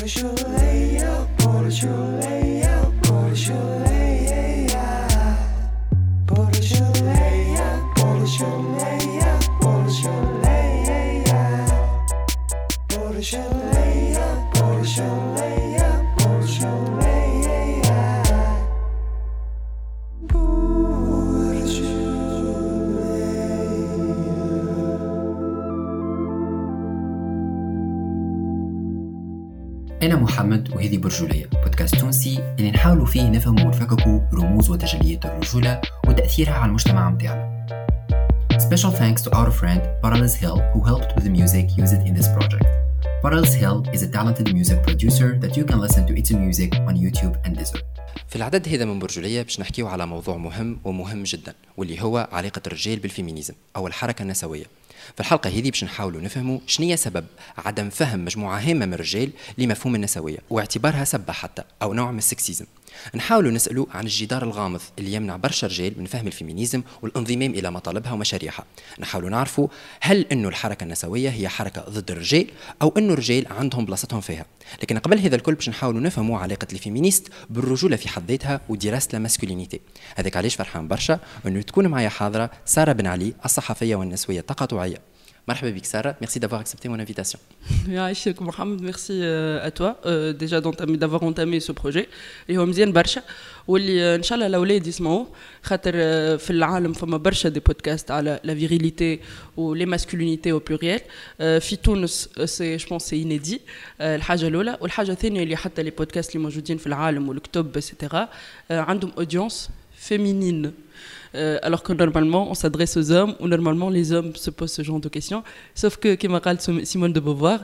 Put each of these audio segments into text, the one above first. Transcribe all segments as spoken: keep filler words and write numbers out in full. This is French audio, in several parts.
أنا محمد وهذه برجولية، بودكاست تونسي اللي نحاولوا فيه نفهم ونفككوا رموز وتجليات الرجولة وتأثيرها على المجتمع متاعنا. Special thanks to our friend Parallels Hill who helped with the music used in this project. Parallels Hill is a talented music producer that you can listen to its music on YouTube and Deezer. في العدد هذا من برجولية باش نحكيو على موضوع مهم ومهم جدا، واللي هو علاقة الرجال بالفيمينيزم أو الحركة النسوية. في الحلقة هذه باش نحاولوا نفهموا شنية سبب عدم فهم مجموعة هامة من الرجال لمفهوم النسوية واعتبارها سبة حتى أو نوع من السكسيزم. نحاولوا نسألوا عن الجدار الغامض اللي يمنع برشا رجال من فهم الفيمينيزم والانضمام إلى مطالبها ومشاريعها. نحاولوا نعرفوا هل إنه الحركة النسوية هي حركة ضد الرجال أو إنه الرجال عندهم بلاصتهم فيها. لكن قبل هذا الكل باش نحاولوا نفهموا علاقة الفيمينيست بالرجولة في حد ذاتها ودراسة الماسكولينيتي. هذاك علاش فرحان برشا إنه تكون معايا حاضرة سارة بن علي، الصحفية والنسوية التقاطعية. مرحبا بك سارة, merci d'avoir accepté mon invitation. يعيشك محمد, merci à toi euh, déjà d'avoir entamé ce projet اللي هو مزيان برشا, واللي ان شاء الله الاولاد يسمعوه, خاطر في العالم فما برشا دي بودكاست على لا فيريليتي و لي ماسكولينيتي او بلوريال. في تونس سي جو بونس سي انيدي, الحاجه الاولى. والحاجه الثانيه اللي حتى لي بودكاست اللي موجودين في العالم والكتب ايتترا عندهم اودينس féminine. Euh, alors que normalement on s'adresse aux hommes ou normalement les hommes se posent ce genre de questions, sauf que comme a dit Simone de Beauvoir,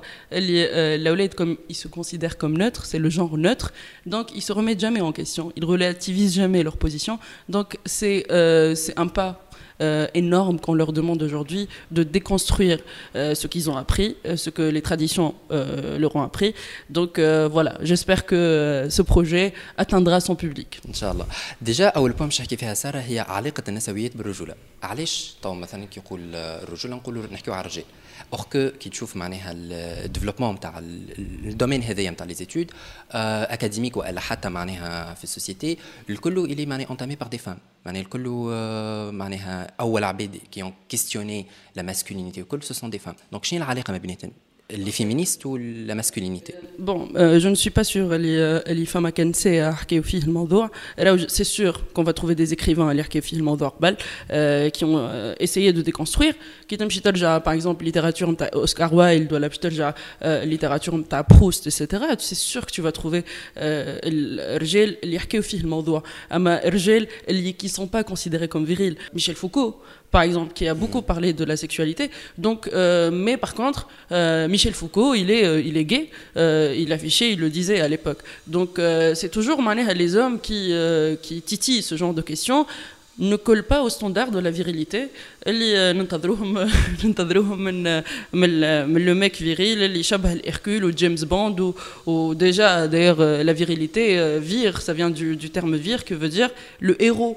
l'awlad comme ils se considèrent comme neutres, c'est le genre neutre, donc ils se remettent jamais en question, ils relativisent jamais leur position, donc c'est euh, c'est un pas Euh, énorme qu'on leur demande aujourd'hui de déconstruire euh, ce qu'ils ont appris, euh, ce que les traditions euh, leur ont appris. Donc euh, voilà, j'espère que euh, ce projet atteindra son public. Inch'Allah. Déjà, أول point باش نحكي فيها سارة هي علاقة النسويات بالرجولة. علاش طو مثلا كي يقول الرجولة نقولوا نحكيو على الرجال. Or que كي تشوف معناها الديفلوبمون نتاع الدومين هذايا نتاع لي زيتود اكاديميك والا حتى معناها في السوسيتي الكل اللي معناها انتامي بار دي فام, معناها الكل معناها اول عباد كي اون كيستيوني لا ماسكولينيتي الكل سو سون دي فام. دونك شنو العلاقه ما بيناتهم, les féministes ou la masculinité? Bon, euh, je ne suis pas sûre اللي فما كان ساعة حكيو فيه الموضوع. C'est sûr qu'on va trouver des écrivains اللي حكيو فيه الموضوع قبل qui ont essayé de déconstruire. كي تمشي ترجع par exemple littérature نتاع أوسكار وايلد ولا باش ترجع littérature نتاع بروست et cetera, c'est sûr que tu vas trouver الرجال اللي يحكيو فيه الموضوع. أما الرجال اللي qui sont pas considérés comme virils, Michel Foucault par exemple, qui a beaucoup parlé de la sexualité. Donc, euh, mais par contre, euh, Michel Foucault, il est, euh, il est gay. Euh, il affichait, il le disait à l'époque. Donc, euh, c'est toujours les hommes qui, euh, qui titillent ce genre de questions ne collent pas au standard de la virilité. اللي ننتظروهم ننتظروهم من من من le mec viril اللي شبه الهركول و جيمس بوند و و déjà d'ailleurs la virilité vir, ça vient du du terme vir qui veut dire le héros,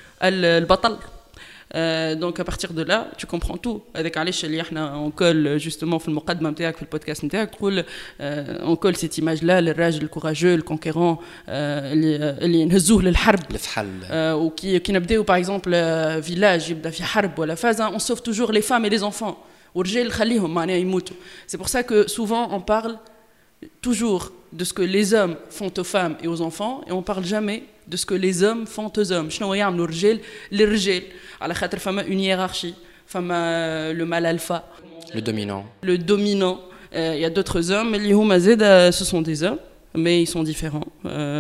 البطل. Euh, donc à partir de là tu comprends tout. avec علاش اللي احنا on colle justement في المقدمه نتاعك في البودكاست نتاعك تقول on colle cette image là للراجل الكوراجو الكونكيرون اللي اللي نهزوه للحرب الفحل وكي كي نبداو باغ اكزومبل فيلاج يبدا في حرب ولا فازا on sauve toujours les femmes et les enfants والرجال خليهم معناها يموتوا. c'est pour ça que souvent on parle toujours de ce que les hommes font aux femmes et aux enfants et on parle jamais de ce que les hommes font aux hommes. شنو يعملوا الرجال للرجال, على خاطر فما une hiérarchie, فما le mâle alpha, le dominant, le dominant. Il euh, y a d'autres hommes اللي هما زاد ce sont des hommes mais ils sont différents,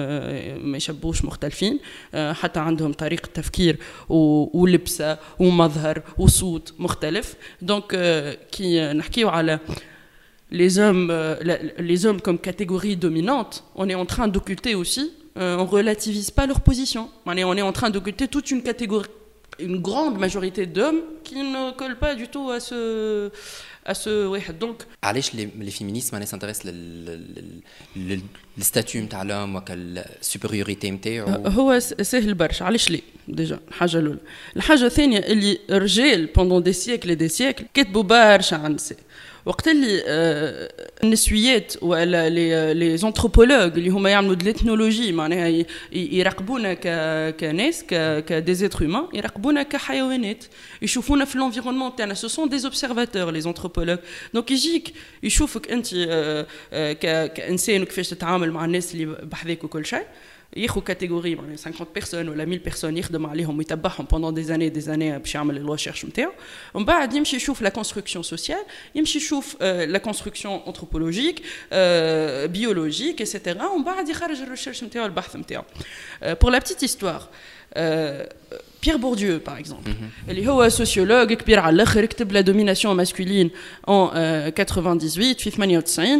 ما يشبهوش مختلفين, حتى عندهم طريقة تفكير ولبسة ومظهر وصوت مختلف. donc كي نحكيو على les hommes, euh, les hommes comme catégorie dominante, on est en train d'occulter aussi, euh, on relativise pas leur position. On est, on est en train d'occulter toute une catégorie, une grande majorité d'hommes qui ne collent pas du tout à ce, à ce. Ouais, donc. علاش les, les féministes معناها s'intéressent لل الستاتيو نتاع الهوم وكال supériorité نتاعو؟ هو سهل برشا. علاش ليه؟ ديجا الحاجة الأولى. الحاجة الثانية اللي الرجال pendant des siècles et des siècles كتبوا برشا عن النساء. وقت اللي النسويات ولا لي لي زونتروبولوج اللي هما يعملوا د ليثنولوجي معناها يراقبونا ك كناس ك كدي زيتر هيومان يراقبونا كحيوانات يشوفونا في الانفيرونمون تاعنا سو سون دي اوبسيرفاتور لي زونتروبولوج دونك يجيك يشوفك انت كانسان وكيفاش تتعامل مع الناس اللي بحذاك وكل شيء ياخذ كاتيجوري معناها خمسين بيرسون ولا مية بيرسون يخدم عليهم ويتبعهم بوندون دي زاني دي زاني باش يعمل الريشيرش نتاعو ومن بعد يمشي يشوف لا كونستركسيون سوسيال يمشي يشوف لا كونستركسيون انثروبولوجيك بيولوجيك ايتترا ومن بعد يخرج الريشيرش نتاعو البحث نتاعو بور لا بتيت هيستوار Pierre Bourdieu par exemple اللي هو سوسيولوج كبير على الاخر كتب لا دوميناسيون ماسكولين en quatre-vingt-dix-huit في ثمانية وتسعين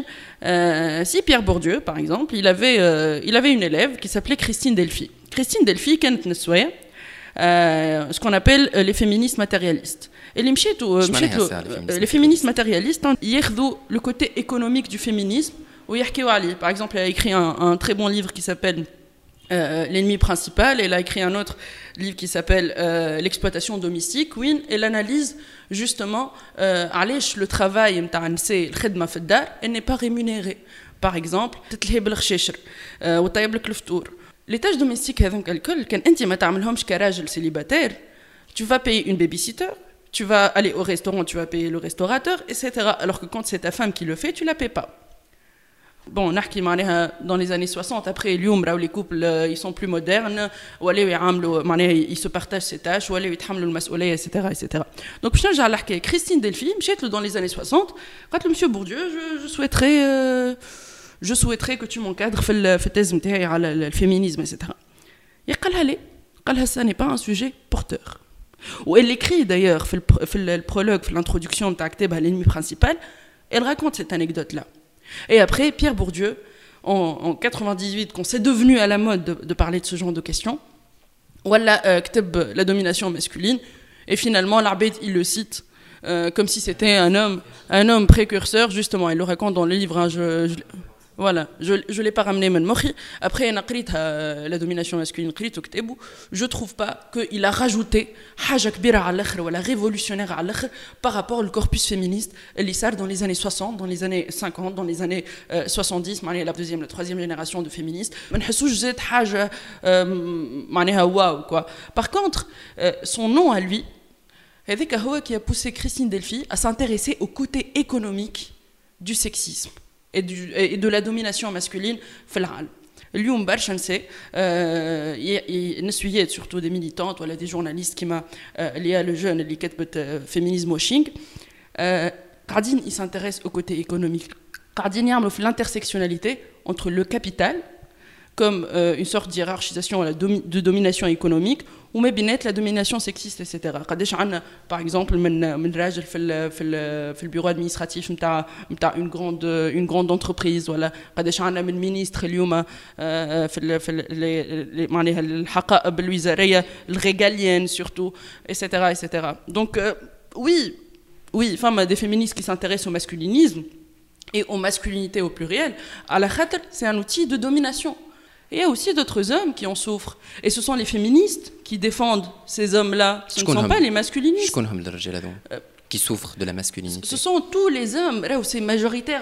si Pierre Bourdieu par exemple il avait euh, il avait une élève qui s'appelait Christine Delphi Christine Delphi كانت نسوية euh, ce qu'on appelle euh, les féministes matérialistes اللي مشيتوا مشيتوا les féministes matérialistes ياخذوا le côté économique du féminisme ويحكيوا عليه par exemple il a écrit un, un très bon livre qui s'appelle Euh, l'ennemi principal. Elle a écrit un autre livre qui s'appelle euh, l'exploitation domestique. Oui, elle analyse justement علاش euh, le travail نتاع النساء الخدمة في الدار elle n'est pas rémunérée. Par exemple, تتلهي بالخشاشر وطيب لك الفطور. Les tâches domestiques هذوك الكل كان أنت ما تعملهمش كراجل célibataire. Tu vas payer une babysitter. Tu vas aller au restaurant, tu vas payer le restaurateur, et cetera. Alors que quand c'est ta femme qui le fait, tu la payes pas. Bon, نحكي معناها dans les années soixante après اليوم راهو les couples ils sont plus modernes ولاو يعاملوا معناها ils se partagent ces tâches ولاو يتحملوا المسؤوليه et cetera et cetera. Donc باش نرجع لحكايه كريستين دلفي مشيت له dans les années soixante قالت له monsieur Bourdieu je, je souhaiterais euh, je souhaiterais que tu m'encadres في في التيز نتاعي على الفيمينيزم et cetera. قالها لي قالها ça n'est pas un sujet porteur. وelle écrit d'ailleurs في في البرولوج في l'introduction نتاع كتابها l'ennemi principal elle raconte cette anecdote là. Et après, Pierre Bourdieu, en, en quatre-vingt-dix-huit, quand c'est devenu à la mode de, de parler de ce genre de questions, voilà, euh, la domination masculine, et finalement, l'Arbeit, il le cite euh, comme si c'était un homme, un homme précurseur, justement, il le raconte dans le livre, hein, je, je, voilà, je ne l'ai pas ramené, mais après, la domination masculine, je ne trouve pas qu'il a rajouté حاجة كبيرة على الآخر ولا révolutionnaire على الآخر par rapport au corpus féministe اللي صار dans les années soixante, dans les années cinquante, dans les années euh, soixante-dix, la deuxième, la troisième génération de féministes. ما نحسوش زاد حاجة معناها واو quoi. Par contre, euh, son nom à lui, هذاك هو qui a poussé Christine Delphi à s'intéresser au côté économique du sexisme. Et, du, et de la domination masculine في العالم. اليوم برشا نساء نسويات surtout des militantes ولا des journalistes كيما اللي هي لو جون اللي كتبت féminisme washing قاعدين ils s'intéressent au côté économique قاعدين يعملوا في l'intersectionnalité entre le capital comme euh, une sorte d'hiérarchisation de domination économique ou mais bien la domination sexiste et cetera. قداش عندنا par exemple من من راجل في ال في ال في البيرو ادمينستراتيف نتاع نتاع une grande une grande entreprise ولا قداش عندنا من مينيستر اليوم في ال في معناها الحقائب الوزاريه الريغاليين surtout et cetera et cetera. Donc euh, oui oui femme des féministes qui s'intéressent au masculinisme et aux masculinités au pluriel à la khater c'est un outil de domination. Et il y a aussi d'autres hommes qui en souffrent. Et ce sont les féministes qui défendent ces hommes-là. Ce ne sont pas les masculinistes. Euh, qui souffrent de la masculinité. Ce sont tous les hommes. C'est majoritaire.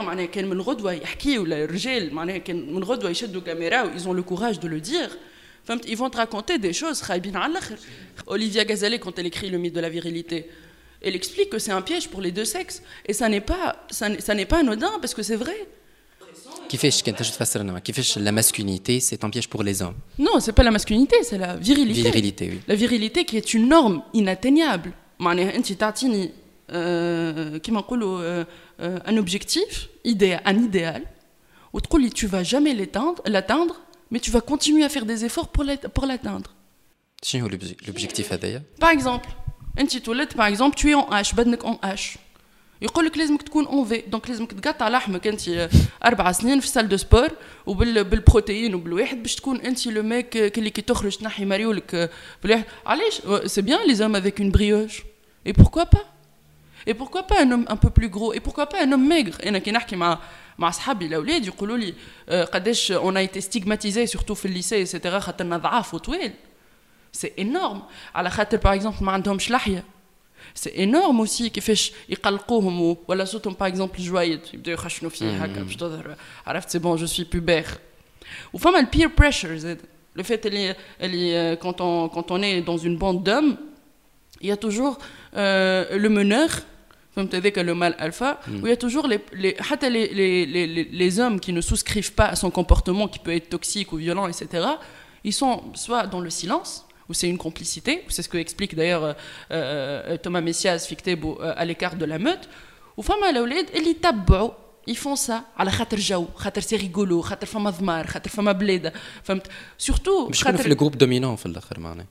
Ils ont le courage de le dire. Ils vont te raconter des choses. Olivia Gazelle, quand elle écrit Le mythe de la virilité, elle explique que c'est un piège pour les deux sexes. Et ça n'est pas, ça n'est, ça n'est pas anodin parce que c'est vrai. كيفاش كنت تفسر لنا كيفاش la masculinité c'est un piège pour les hommes? Non, c'est pas la masculinité, c'est la virilité. Virilité, oui. La virilité qui est une norme inatteignable. معناها انت تعطيني كيما نقولوا un objectif, un idéal وتقول لي tu vas jamais l'atteindre, l'atteindre, mais tu vas continuer à faire des efforts pour pour l'atteindre. شنو هو l'objectif هذايا؟ Par exemple, انت تولد par exemple tu es en H, بدنك en H. يقول لك لازمك تكون اون في دونك لازمك تقطع لحمك انت اربع سنين في سال دو سبور وبالبروتين وبالواحد باش تكون انت لو ميك اللي كي تخرج تنحي مريولك بالواحد. علاش سي بيان لي زوم افيك اون بريوش اي بوركوا با اي بوركوا با ان homme un peu plus gros et pourquoi pas un homme maigre. انا كي نحكي مع مع اصحابي الاولاد يقولوا لي قداش اون ايتي ستيغماتيزي سورتو في الليسي ايتترا خاطرنا ضعاف وطويل. سي انورم على خاطر باغ اكزومبل ما عندهمش لحيه c'est énorme aussi كيفاش يقلقوهم ولا صوتهم par exemple جوايد يبداو يخشنوا فيه هكا باش تظهر عرفت c'est bon je suis pubère وفما le peer pressure زاد le fait اللي اللي quand on quand on est dans une bande d'hommes il y a toujours euh, le meneur فهمت هذاك le mâle alpha où il y a toujours les les حتى les les les les hommes qui ne souscrivent pas à son comportement qui peut être toxique ou violent et cetera ils sont soit dans le silence où c'est une complicité, c'est ce que explique d'ailleurs euh, euh, Thomas Messias Fictebo euh, à l'écart de la meute, ou femme l'awlad اللي يتبعوا ils font ça على خاطر جو خاطر سي ريغولو خاطر فما ضمار خاطر فما بلاد فهمت surtout مش خاطر في الجروب دومينون في الاخر معناه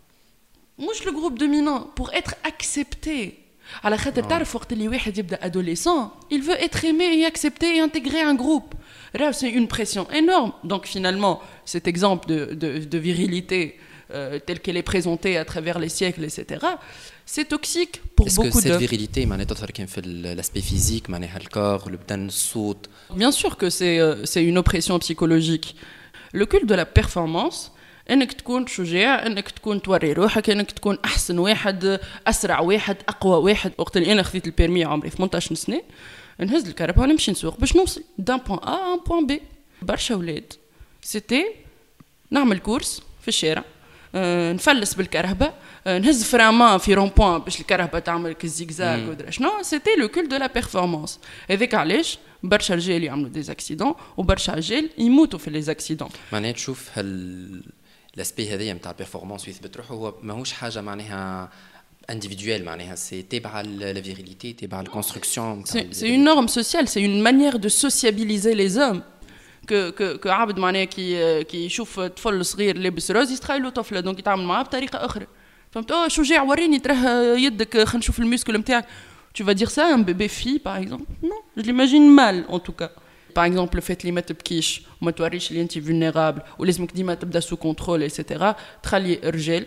مش le groupe dominant pour être accepté على خاطر تعرف وقت اللي واحد يبدا adolescent il veut être aimé et accepté et intégrer un groupe là c'est une pression énorme donc finalement cet exemple de de de virilité Euh, telle qu'elle est présentée à travers les siècles, et cetera, c'est toxique pour Est-ce beaucoup que cette de... virilité, l'aspect physique, le corps, le bdan, le saut. Bien sûr que c'est, euh, c'est une oppression psychologique. Le culte de la performance, انك تكون شجاع انك تكون توري روحك انك تكون احسن واحد اسرع واحد اقوى واحد وقت اللي انا خذيت البيرمي عمري ثمانية عشر سنه نهز الكهرباء ونمشي نسوق باش نوصل دان بوين ا ان بوين بي برشا ولاد سيتي نعمل كورس في الشارع أه نفلس بالكرهبه أه نهز فرامون في رون بوين باش الكرهبه تعمل كالزيكزاك ودرا شنو سيتي لو كول دو لا بيرفورمانس هذاك علاش برشا رجال يعملوا دي اكسيدون وبرشا رجال يموتوا في لي اكسيدون معناها تشوف هال الاسبي هذايا نتاع البيرفورمانس ويثبت روحه هو ماهوش حاجه معناها individuel معناها سي تبع لا فيريليتي تبع الكونستركسيون سي اون نورم سوسيال سي اون مانيير دو سوسيابيليزي لي زوم que que que عبد معناها كي كي يشوف طفل صغير لابس روز يستخيل له طفله دونك يتعامل معاه بطريقه اخرى فهمت اه شجاع وريني تراه يدك خلينا نشوف الميسكل نتاعك tu vas dire ça à un bébé fille par exemple non je l'imagine mal en tout cas par exemple le fait اللي ما تبكيش وما توريش اللي انت vulnérable ولازمك ديما تبدا سو كونترول ايتترا تخلي رجال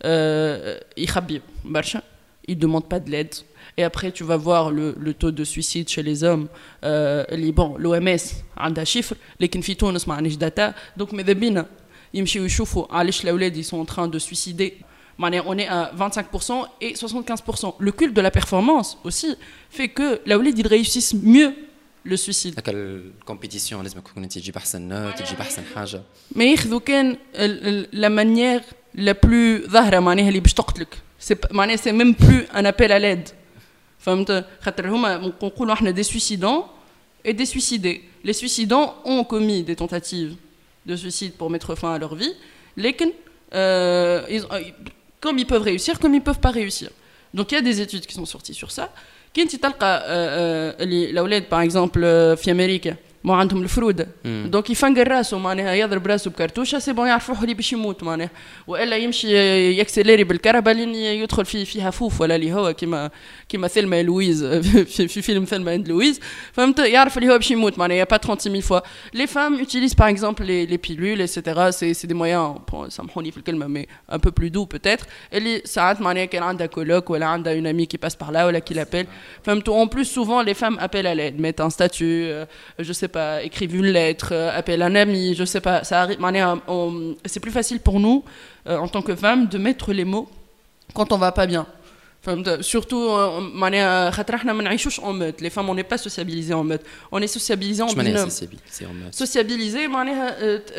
يخبي برشا ils demandent pas de l'aide. Et après, tu vas voir le, le taux de suicide chez les hommes. Euh, bon, l'O M S a des chiffres, mais في تونس ما عندناش data. Donc, ماذا بينا يمشيو يشوفوا علاش الأولاد ils sont en train de suicider. On est à vingt-cinq pour cent et soixante-quinze pour cent. Le culte de la performance aussi fait que الأولاد ils réussissent mieux le suicide. هكا الكومبيتيسيون لازم تكون انت تجيب احسن نوت تجيب احسن حاجه. ما ياخذوا كان la manière la plus ظاهره معناها اللي باش تقتلك. C'est معناها c'est même plus un appel à l'aide. فهمت خاطر هما نقولوا احنا des suicidants et des suicidés. Les suicidants ont commis des tentatives de suicide pour mettre fin à leur vie, lesquels euh, ils, comme ils peuvent réussir, comme ils peuvent pas réussir. Donc il y a des études qui sont sorties sur ça. كنتي تلقى اللي الاولاد par exemple في امريكا ما عندهم الفرود دونك يفنقر راسه معناها يضرب راسه بكرتوشه سي بون يعرف روحه اللي باش يموت معناها والا يمشي يكسليري بالكهرباء لين يدخل في فيها فوف ولا اللي هو كيما كيما ثلمى لويز في, في فيلم ثلمى اند لويز فهمت يعرف اللي هو باش يموت معناها يا با trente mille fois les femmes utilisent par exemple les les pilules et cetera c'est c'est des moyens سامحوني في الكلمه mais un peu plus doux peut-être اللي ساعات معناها كان عندها كولوك ولا عندها une amie qui passe par là ولا qui l'appelle فهمت en plus souvent les femmes appellent à l'aide mettent un statut euh, je sais pas écrivent une lettre euh, appellent un ami je sais pas ça arrive on, c'est plus facile pour nous euh, en tant que femmes de mettre les mots quand on va pas bien enfin, surtout معناها خاطر احنا ما نعيشوش en meute les femmes on n'est pas sociabilisées en meute on est sociabilisées en binôme sociabilisées معناها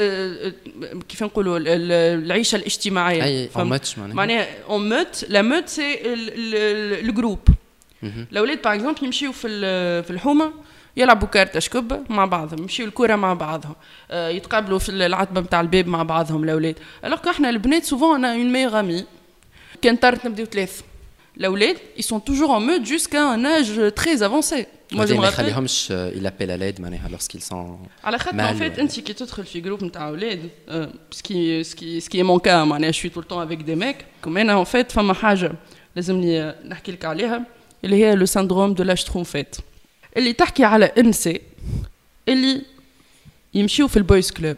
كيف نقولوا العيشه الاجتماعيه معناها en meute la meute c'est le groupe الاولاد par exemple يمشيو في في الحومه يلعبوا كارت اشكب مع بعضهم يمشيوا الكره مع بعضهم أه يتقابلوا في العتبه نتاع الباب مع بعضهم الاولاد alors احنا البنات souvent on a une meilleure amie كان طارت نبداو ثلاث الاولاد ils sont toujours en meute jusqu'à un âge très avancé moi je me rappelle ما يخليهمش il appelle à l'aide معناها lorsqu'ils sont على خاطر en fait انت كي تدخل في جروب نتاع اولاد سكي سكي سكي مون كا معناها je suis tout le temps avec des mecs comme انا en fait فما حاجه لازمني نحكي لك عليها اللي هي le syndrome de la schtroumpfette اللي تحكي على انسي اللي يمشيو في البويز كلوب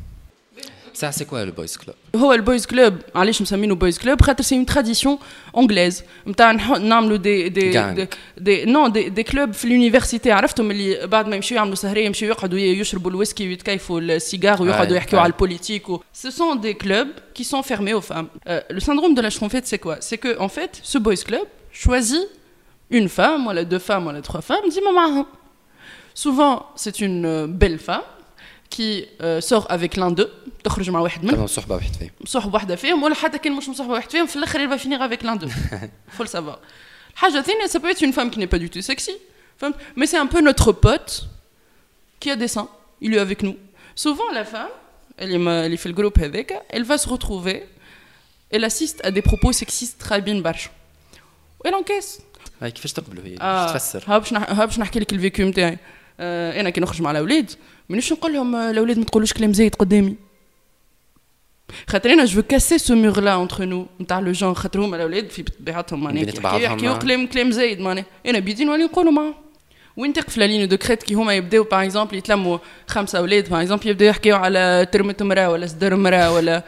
ça c'est quoi le boys club هو البويز كلوب علاش مسمينه بويز كلوب خاطر سي اون تراديسيون انجليز نتاع نعملوا دي دي دي نو دي دي كلوب في اليونيفرسيتي عرفتهم اللي بعد ما يمشيو يعملوا سهريه يمشيو يقعدوا يشربوا الويسكي ويتكيفوا السيجار ويقعدوا يحكيوا على البوليتيك ce sont des clubs qui sont fermés aux femmes euh, le syndrome de la schtroumpfette c'est quoi c'est que en fait ce boys club choisit une femme ولا deux femmes ولا trois femmes ديما معاهم. Souvent c'est une belle femme qui euh, sort avec l'un d'eux تخرج مع واحد منهم صحبه واحد فيهم صحبه واحده فيهم ولا حتى كان مش مصاحبه واحد فيهم في الاخر il va finir avec l'un d'eux. Faut le savoir. الحاجه الثانيه ça peut être une femme qui n'est pas du tout sexy mais c'est un peu notre pote qui a des seins, il est avec nous. Souvent la femme elle est elle fait le groupe avec, elle va se retrouver, elle assiste à des propos sexistes خايبين برشا. elle encaisse. هاي كيفاش تقبلوا هي آه. تفسر ها باش ها باش نحكي لك الفيكو نتاعي. آه انا كي نخرج مع الاولاد مانيش نقول لهم الاولاد ما تقولوش كلام زايد قدامي خاطر انا جو كاسي سو مور لا انتر نو نتاع لو جون خاطر هما الاولاد في طبيعتهم معناها يحكيو كلام كلام زايد معناها انا بيدي نولي نقولوا معاهم. وين تقف لا لين دو كريت كي هما يبداو باغ اكزومبل يتلموا خمسه اولاد باغ اكزومبل يبداو يحكيو على ترمه مراه ولا صدر مراه ولا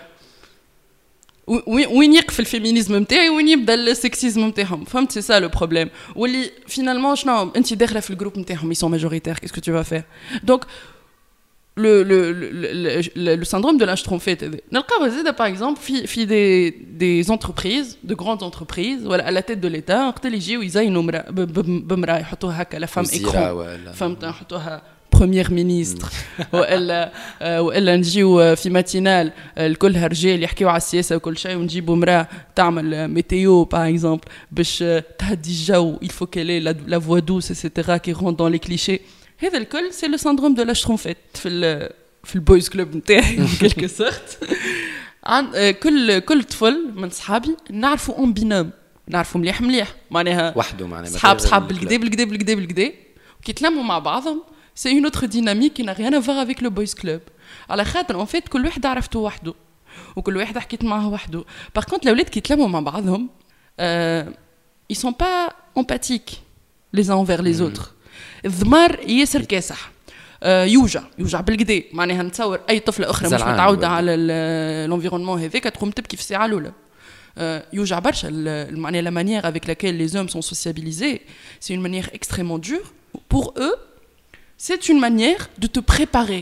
وين يقف الفيمينيزم نتاعي وين يبدا السكسيزم نتاعهم فهمت سي سا لو بروبليم واللي فينالمون شنو انت داخله في الجروب نتاعهم ils sont majoritaires qu'est-ce que tu vas faire donc le le le le, le syndrome de la schtroumpfette نلقاو زيد par exemple في في des des entreprises de grandes entreprises ولا à la tête de l'état وقت اللي يجيو يزينوا بمراه يحطوها هكا لا فام ايكرون فهمت يحطوها بريمير مينيستر والا والا نجيو في ماتينال الكلها رجال يحكيو على السياسه وكل شيء ونجيبوا امراه تعمل ميتيو باغ اكزومبل باش تهدي الجو il faut qu'elle ait la, la voix douce et cetera qui rentre dans les clichés. هذا الكل سي لو سندروم دو لا شترومفيت في ال في البويز كلوب نتاعي كيلكو سورت. عن كل كل طفل من صحابي نعرفوا اون بينوم نعرفوا مليح مليح معناها وحده معناها صحاب صحاب بالكدا بالكدا بالكدا بالكدا كي يتلموا مع بعضهم c'est une autre dynamique qui n'a rien à voir avec le boys club. على خاطر en fait كل واحد عرفته وحده وكل واحد حكيت معه وحده. par contre الاولاد كي يتلموا مع بعضهم euh, ils sont pas empathiques les uns envers les autres. الضمار ياسر كاسح آه يوجع يوجع بالكدا معناها نتصور اي طفله اخرى مش متعوده على الانفيرونمون هذاك تقوم تبكي في الساعه الاولى. Euh, يوجع برشا معناها la manière avec laquelle les hommes sont sociabilisés c'est une manière extrêmement dure pour eux. C'est une manière de te préparer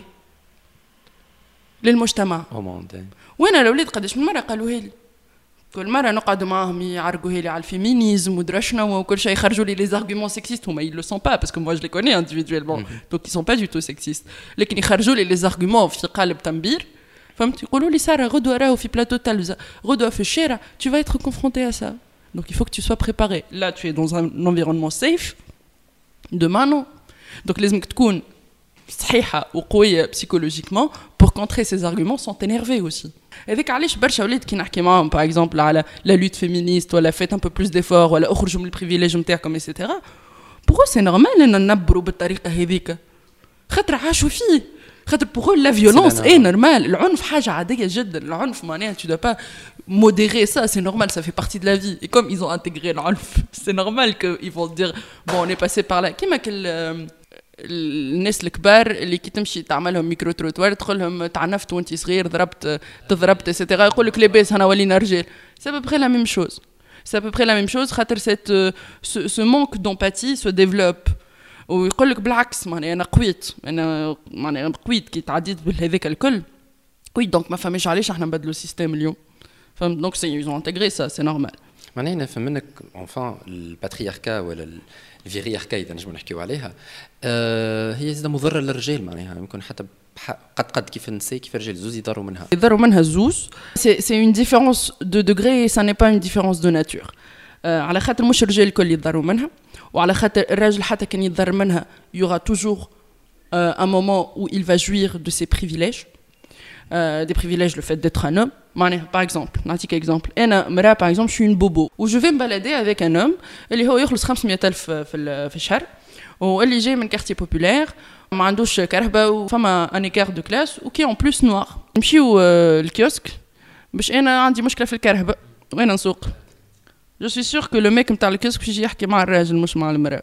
للمجتمع. وين الاولاد قداش من مره قالوا لي كل مره نقعد معاهم يعرقوا لي على الفيمينيزم ودرا شنو وكل شيء يخرجوا لي les arguments sexistes هما ils le sont pas parce que moi je les connais individuellement mm-hmm. donc ils sont pas du tout sexistes لكن يخرجوا لي les arguments في قالب تنبير فهمت يقولوا لي ساره غدوه راهو في بلاطو تلفزه غدوه في الشارع tu vas être confronté à ça donc il faut que tu sois préparé là tu es dans un environnement safe demain non. Donc لازمك تكون صحيحه وقويه psychologiquement pour contrer ces arguments sans t'énerver aussi. هذيك علاش برشا ولاد كي نحكي معاهم par exemple على la lutte féministe ولا faites un peu plus d'efforts ولا اخرجوا من البريفيليج نتاعكم et cetera. pour eux c'est normal ان ننبروا بالطريقه هذيك خاطر عاشوا فيه خاطر pour eux la violence est normale. العنف حاجه عاديه جدا العنف معناها tu dois pas modérer ça c'est normal ça fait partie de la vie et comme ils ont intégré العنف c'est normal que ils vont dire bon on est passé par là كيما كل الناس الكبار اللي كي تمشي تعملهم ميكرو تروتوار تقول لهم تعنفت وانت صغير ضربت تضربت ايتترا يقول لك لاباس انا ولينا رجال سي ابري لا ميم شوز سي ابري لا ميم شوز خاطر سيت سو مانك دومباتي سو ديفلوب ويقول لك بالعكس معناها انا قويت انا معناها قويت كي تعديت بهذاك الكل وي دونك ما فهمش علاش احنا نبدلوا السيستم اليوم فهمت دونك سي يزون انتغري سا سي نورمال. معناها نفهم منك انفان الباترياركا ولا الفيرياركا اذا نجمو نحكيو عليها أه هي زاده مضره للرجال معناها يمكن حتى قد قد كيف النساء كيف الرجال زوز يضروا منها يضروا منها زوز سي سي اون ديفيرونس دو دوغري سا ني با اون ديفيرونس دو ناتور أه على خاطر مش الرجال الكل يضروا منها وعلى خاطر الراجل حتى كان يضر منها يورا توجور ان مومون où il va jouir de ses privilèges euh, des privilèges le fait d'être un homme. Par exemple, نعطيك exemple. أنا مرة par exemple, je suis une bobo. Où je vais me balader avec un homme اللي هو يخلص خمسمية ألف في في الشهر واللي جاي من quartier populaire ما عندوش كرهبة وفما un écart de classe وكي en plus noir. نمشيو الكيوسك باش أنا عندي مشكلة في الكرهبة وأنا نسوق. Je suis sûr que le mec نتاع الكيوسك بيجي يحكي مع الراجل مش مع المرأة.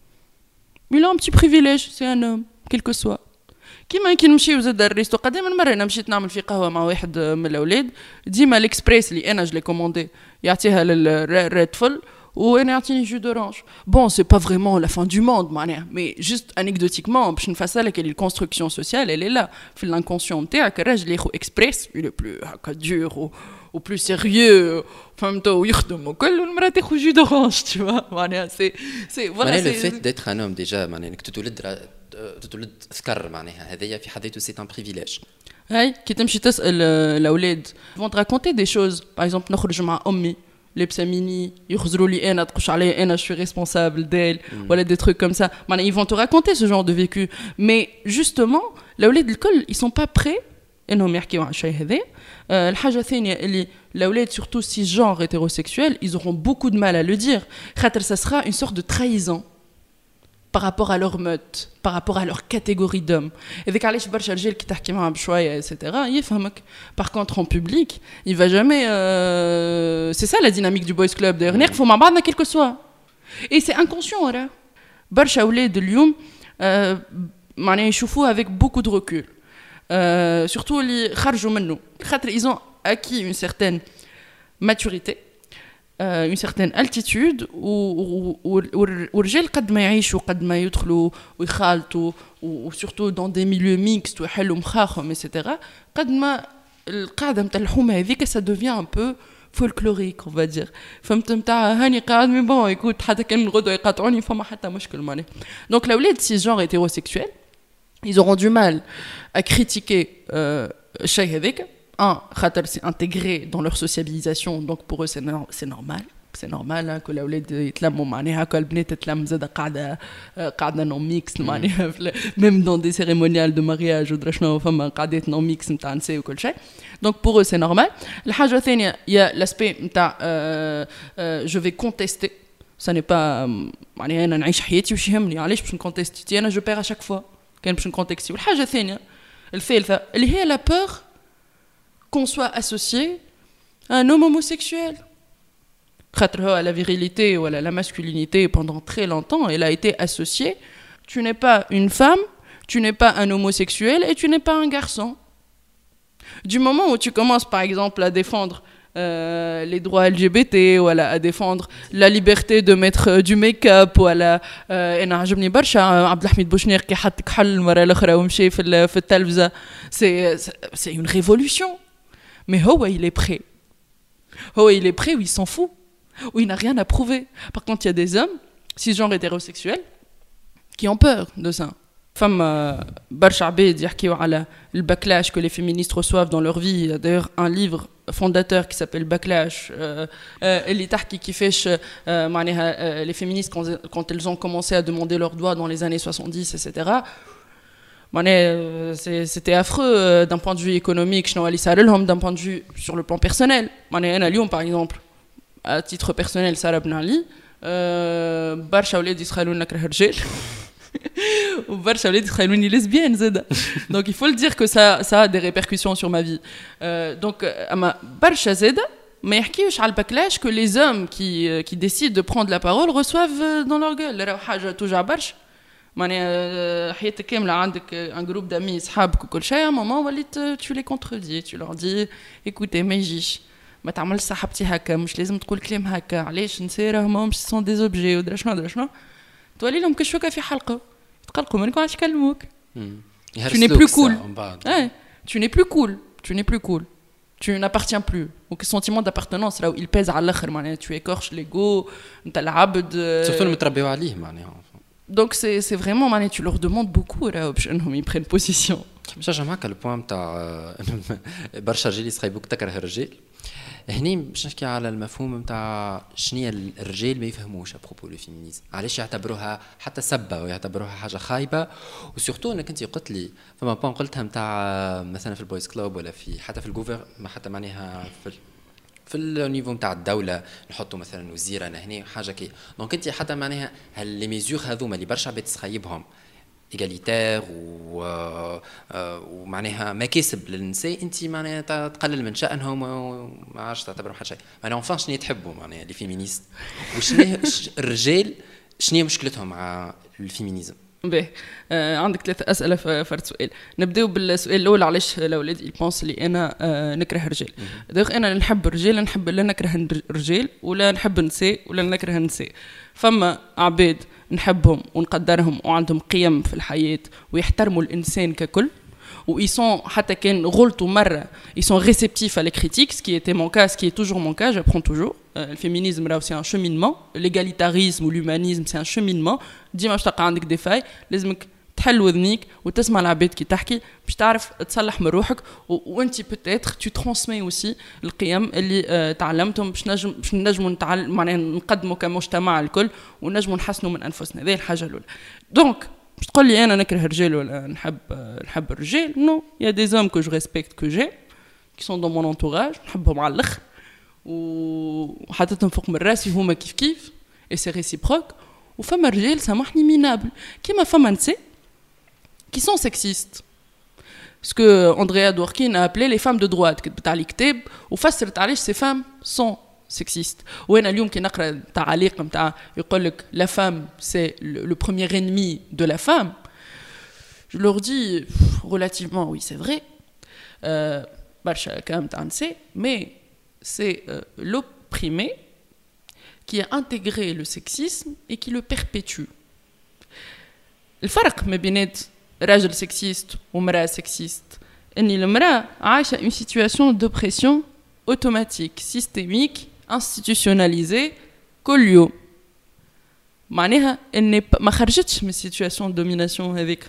Il a un petit privilège, c'est un homme, quel que soit. كيما كي نمشيو زاد الريستو قديما مره انا مشيت نعمل في قهوه مع واحد من الاولاد ديما الاكسبريس اللي انا جلي كوموندي يعطيها للريد فول وانا يعطيني جو دورانج بون سي با فريمون لا فان دو موند معناها مي جوست انيكدوتيكمون باش نفسرلك اللي الكونستركسيون سوسيال اللي لا في الانكونسيون نتاعك الراجل ياخذ اكسبريس لو بلو هكا دور وبلو سيريو فهمتوا ويخدموا كل والمراه تاخذ جو دورانج tu vois معناها سي سي فوالا سي لو فيت ديتر ان هوم ديجا معناها انك تتولد تتولد ذكر معناها هذايا في حد ذاته سي ان بريفيليج. هاي كي تمشي تسال الاولاد vont te raconter des choses par exemple نخرج مع امي لابسه ميني يخزروا لي انا تقش عليا انا je suis responsable d'elle ولا des trucs comme ça معناها ils vont te raconter ce genre de vécu mais justement الاولاد الكل ils sont pas prêts انهم يحكيوا عن الشيء هذا. أه الحاجه الثانيه اللي الاولاد surtout si genre hétérosexuel ils auront beaucoup de mal à le dire خاطر ça sera une sorte de trahison par rapport à leur meute par rapport à leur catégorie d'hommes. هذيك علاش برشا رجال كي تحكي معاهم بشويه etc يفهمك. par contre en public il va jamais euh... c'est ça la dynamique du boys club d'ailleurs نقفوا مع بعضنا quel que soit et c'est inconscient راه برشا اولاد اليوم أه معناها يشوفوه avec beaucoup de recul. Euh, surtout اللي خرجوا منه خاطر ils ont acquis une certaine maturité euh, une certaine altitude والرجال قد ما يعيشوا قد ما يدخلوا ويخالطوا وsurtout dans des milieux mixtes ويحلوا مخاخهم etc قد ما القاعده نتاع الحومه هذيك ça devient un peu folklorique on va dire فهمت نتاع هاني قاعد مي بون يكون حتى كان غدوه يقاطعوني فما حتى مشكل ماني دونك الاولاد سي جونر hétérosexuel ils auront du mal à critiquer الشيء هذاك un خاطر c'est intégré dans leur sociabilisation donc pour eux c'est no- c'est normal c'est normal que الاولاد يتلموا معناها كل البنات تتلم زاده قاعده قاعده نون ميكس معناها même dans des cérémoniales de mariage ودرا شنو فما قعدات نون ميكس نتاع نساء وكل شيء donc pour eux c'est normal. الحاجه الثانيه il y a l'aspect نتاع je vais contester ça n'est pas معناها انا نعيش حياتي وش يهمني علاش باش نكونتستي انا je perds à chaque fois كان باش نكونتكستي. والحاجه الثانيه الثالثه اللي هي la peur qu'on soit associé à un homme homosexuel خاطر هو la virilité ou la masculinité pendant très longtemps elle a été associée tu n'es pas une femme tu n'es pas un homosexuel et tu n'es pas un garçon. Du moment où tu commences par exemple à défendre Euh, les droits L G B T ولا à défendre la liberté de mettre euh, du make-up ولا euh, انا عجبني برشا عبد الحميد بوشنير كي حط كحل المره الاخرى ومشي في في التلفزه c'est c'est une révolution mais هو il est prêt هو il est prêt ou il s'en fout ou il n'a rien à prouver. Par contre il y a des hommes cisgenres hétérosexuels qui ont peur de ça. فما برشا عباد يحكيوا على الباكلاش que les féministes reçoivent dans leur vie. D'ailleurs un livre fondateur qui s'appelle Backlash اللي تحكي كيفاش معناها les féministes quand elles ont commencé à demander leurs droits dans les années soixante-dix etc معناها c'était affreux d'un point de vue économique شنو اللي صار لهم d'un point de vue sur le plan personnel. معناها انا اليوم par exemple à titre personnel صار بنعلي برشا اولاد يسخلوا نكره رجال وبرشا ولاد يخلوني lesbienne زاده donc il faut le dire que ça ça a des répercussions sur ma vie. euh, donc اما برشا زاده ما يحكيوش على الباكلاش que les hommes qui qui décident de prendre la parole reçoivent dans leur gueule. راهو حاجه توجع برشا معناها حياتك كامله عندك un groupe d'amis صحابك وكل شيء à un moment وليت tu les contredis tu leur dis écoutez ما يجيش ما تعملش صاحبتي هكا مش لازم تقول كلام هكا علاش نساء راهم مش سون دي زوبجي ودرا شنو درا شنو تولي لهم كشوكه في حلقه تقلقوا منك علاش يكلموك. tu n'es plus cool ouais, tu n'es plus cool tu n'es plus cool tu n'appartiens plus. donc le sentiment d'appartenance là où il pèse على الاخر معناها tu écorches l'ego انت العبد surtout المتربيو عليه معناها donc c'est c'est vraiment معناها tu leur demandes beaucoup là باش انهم ils prennent position. باش نرجع معك البوان نتاع برشا رجال يسخيبوك تكره الرجال. هني باش نحكي على المفهوم نتاع شنية الرجال ما يفهموش ابروبو لو فيمينيزم علاش يعتبروها حتى سبه ويعتبروها حاجه خايبه وسورتو انك انت قلت لي فما بون قلتها نتاع مثلا في البويز كلوب ولا في حتى في الجوفر حتى معناها في في النيفو نتاع الدوله نحطوا مثلا وزير انا هنا حاجه كي دونك انت حتى معناها هل لي ميزور هذوما اللي برشا عباد تسخيبهم ايغاليتير و ومعناها مكاسب للنساء انت معناها تقلل من شأنهم وما عادش تعتبرهم حتى شيء. معناها اونفان شنو يتحبوا معناها لي فيمينيست وشنو الرجال شنو مشكلتهم مع الفيمينيزم؟ باهي آه عندك ثلاث اسئله في فرد سؤال. نبداو بالسؤال الاول علاش الاولاد يبونس لي انا آه نكره الرجال. دونك انا نحب الرجال نحب لا نكره الرجال ولا نحب النساء ولا نكره النساء. فما عباد نحبهم ونقدرهم وعندهم قيم في الحياه ويحترموا الانسان ككل où ils sont حتى كان غلطوا مرة ils sont réceptifs à les critiques, ce qui était mon cas, ce qui est toujours mon cas, j'apprends toujours. Le féminisme là c'est un cheminement, l'égalitarisme ou l'humanisme c'est un cheminement. ديما باش تلقى عندك دي فاي لازمك تحل وذنيك وتسمع العباد كي تحكي باش تعرف تصلح من روحك وانت peut-être tu transmets aussi القيم اللي تعلمتهم باش نجم باش نجموا نتعلم معناها نقدموا كمجتمع الكل ونجموا نحسنوا من انفسنا. هذه الحاجه الاولى. دونك باش تقول لي انا نكره الرجال ولا نحب نحب الرجال؟ نو il y a des hommes que je respecte que j'ai qui sont dans mon entourage نحبهم على الاخر وحطيتهم فوق من راسي هما كيف كيف et c'est réciproque. وفما رجال سامحني مينابل كيما فما نساء qui sont sexistes. Ce que Andrea Dworkin a appelé les femmes de droite كتبت على الكتاب وفسرت علاش ces femmes sont sexistes. وانا اليوم كي نقرا تعليق نتاع يقول لك la femme c'est le, le premier ennemi de la femme, je leur dis relativement oui c'est vrai euh, برشا كلام تاع نساء mais c'est euh, l'opprimé qui a intégré le sexisme et qui le perpétue. الفرق ما بين راجل سكسيست ومرأة سكسيست ان المرأة عايشة une situation d'oppression automatique, systémique, institutionnalisée كل يوم. معناها ان ما خرجتش من situation de domination هذيك.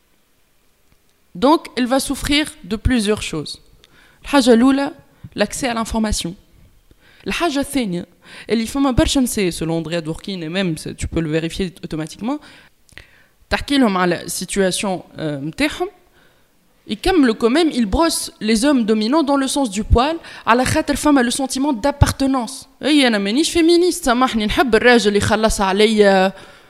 Donc elle va souffrir de plusieurs choses. الحاجة الأولى l'accès à l'information. الحاجة الثانية اللي فما برشا نساء selon Andrea Dworkin et même tu peux le vérifier automatiquement تحكي لهم على situation نتاعهم يكملوا quand même ils brossent les hommes dominants dans le sens du poil على خاطر فما le sentiment d'appartenance. اي انا مانيش فيمينيست سامحني نحب الراجل اللي يخلص عليا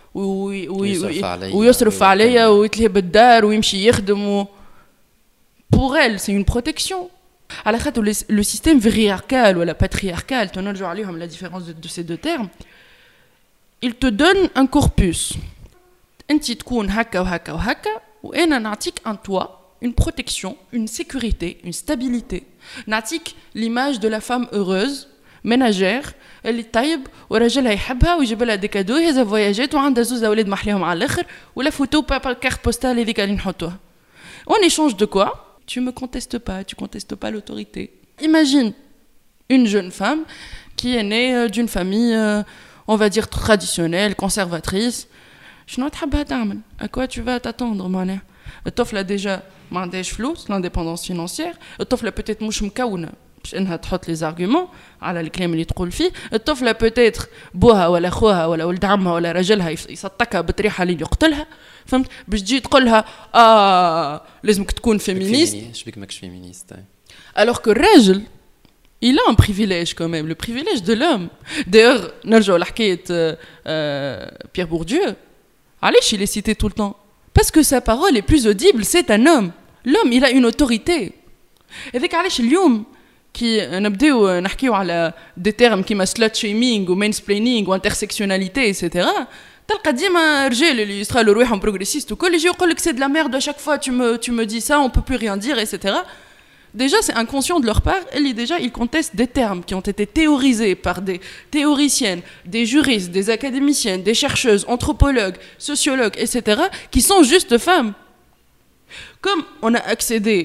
ويصرف عليا ويتلهي بالدار ويمشي يخدم و... pour elle c'est une protection. على خاطر le système patriarcal ou la patriarcal تنرجع عليهم la différence de, de ces deux termes il te donne un corpus. انت تكون هكا وهكا وهكا وانا نعطيك un toit, une protection, une sécurité, une stabilité. نعطيك l'image de la femme heureuse ménagère اللي طيب وراجلها يحبها ويجيب لها دي كادو يهزها فواياجات وعندها زوز اولاد محليهم على الاخر ولا فوتو بابا كارت بوستال هذيك اللي نحطوها. En échange de quoi? Tu me contestes pas, tu contestes pas l'autorité. Imagine une jeune femme qui est née d'une famille, euh, on va dire traditionnelle, conservatrice. شنو تحبها تعمل؟ à quoi tu vas t'attendre معناها؟ الطفلة ديجا ما عندهاش فلوس لانديبوندونس فينانسيير، الطفلة بوتيت مش مكونة باش انها تحط لي زارغومون على الكلام اللي تقول فيه، الطفلة بوتيت بوها ولا خوها ولا ولد عمها ولا راجلها يصطكها بطريحة اللي يقتلها، فهمت؟ باش تجي تقول لها اه لازمك تكون فيمينيست. شبيك ماكش فيمينيست؟ alors que الراجل il a un privilège quand même, le privilège de l'homme. D'ailleurs نرجعوا لحكاية Pierre Bourdieu. علاش il est cité tout le temps? Parce que sa parole est plus audible, c'est un homme. L'homme, il a une autorité. هذاك علاش اليوم كي نبداو نحكيو على دي تيرم كيما slut shaming و mansplaining و intersectionnalité et cetera. تلقى ديما رجال اللي يستغلوا روحهم بروغريسيست وكل يجي يقول لك c'est de la merde à chaque fois tu me tu me dis ça, on peut plus rien dire et cetera. Déjà, c'est inconscient de leur part. Et déjà, ils contestent des termes qui ont été théorisés par des théoriciennes, des juristes, des académiciennes, des chercheuses, anthropologues, sociologues, et cetera, qui sont juste femmes. Comme on a accédé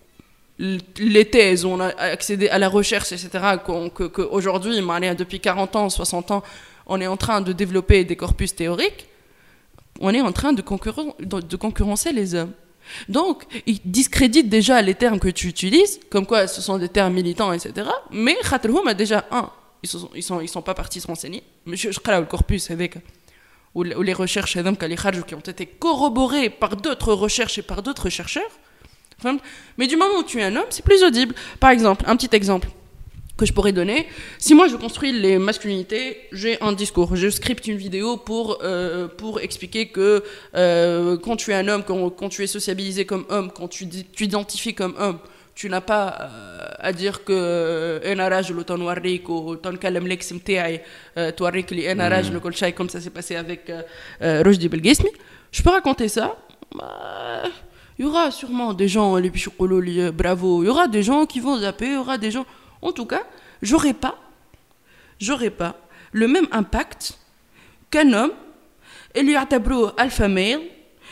les thèses, on a accédé à la recherche, et cetera, qu'aujourd'hui, depuis quarante ans, soixante ans, on est en train de développer des corpus théoriques, on est en train de, concurren- de concurrencer les hommes. Donc, ils discréditent déjà les termes que tu utilises, comme quoi ce sont des termes militants, et cetera. Mais Khaterhoum a déjà un, ils sont, ils sont, ils sont pas partis se renseigner. Monsieur, je crois le corpus avec ou les recherches qui ont été corroborées par d'autres recherches et par d'autres chercheurs. Mais du moment où tu es un homme, c'est plus audible. Par exemple, un petit exemple que je pourrais donner. Si moi je construis les masculinités, j'ai un discours, je scripte une vidéo pour, euh, pour expliquer que euh, quand tu es un homme, quand, quand tu es sociabilisé comme homme, quand tu t'identifies comme homme, tu n'as pas euh, à dire que أنا راجل وتنوريك وتنكلم لك متاعي توريك لي أنا راجل وكل شيء comme ça s'est passé avec Rochdi Belgesmi. Je peux raconter ça. Il y aura sûrement des gens, les bichoukoulou, bravo, il y aura des gens qui vont zapper, il y aura des gens... En tout cas, j'aurais pas, j'aurais pas le même impact qu'un homme, اللي يعتبروه alpha male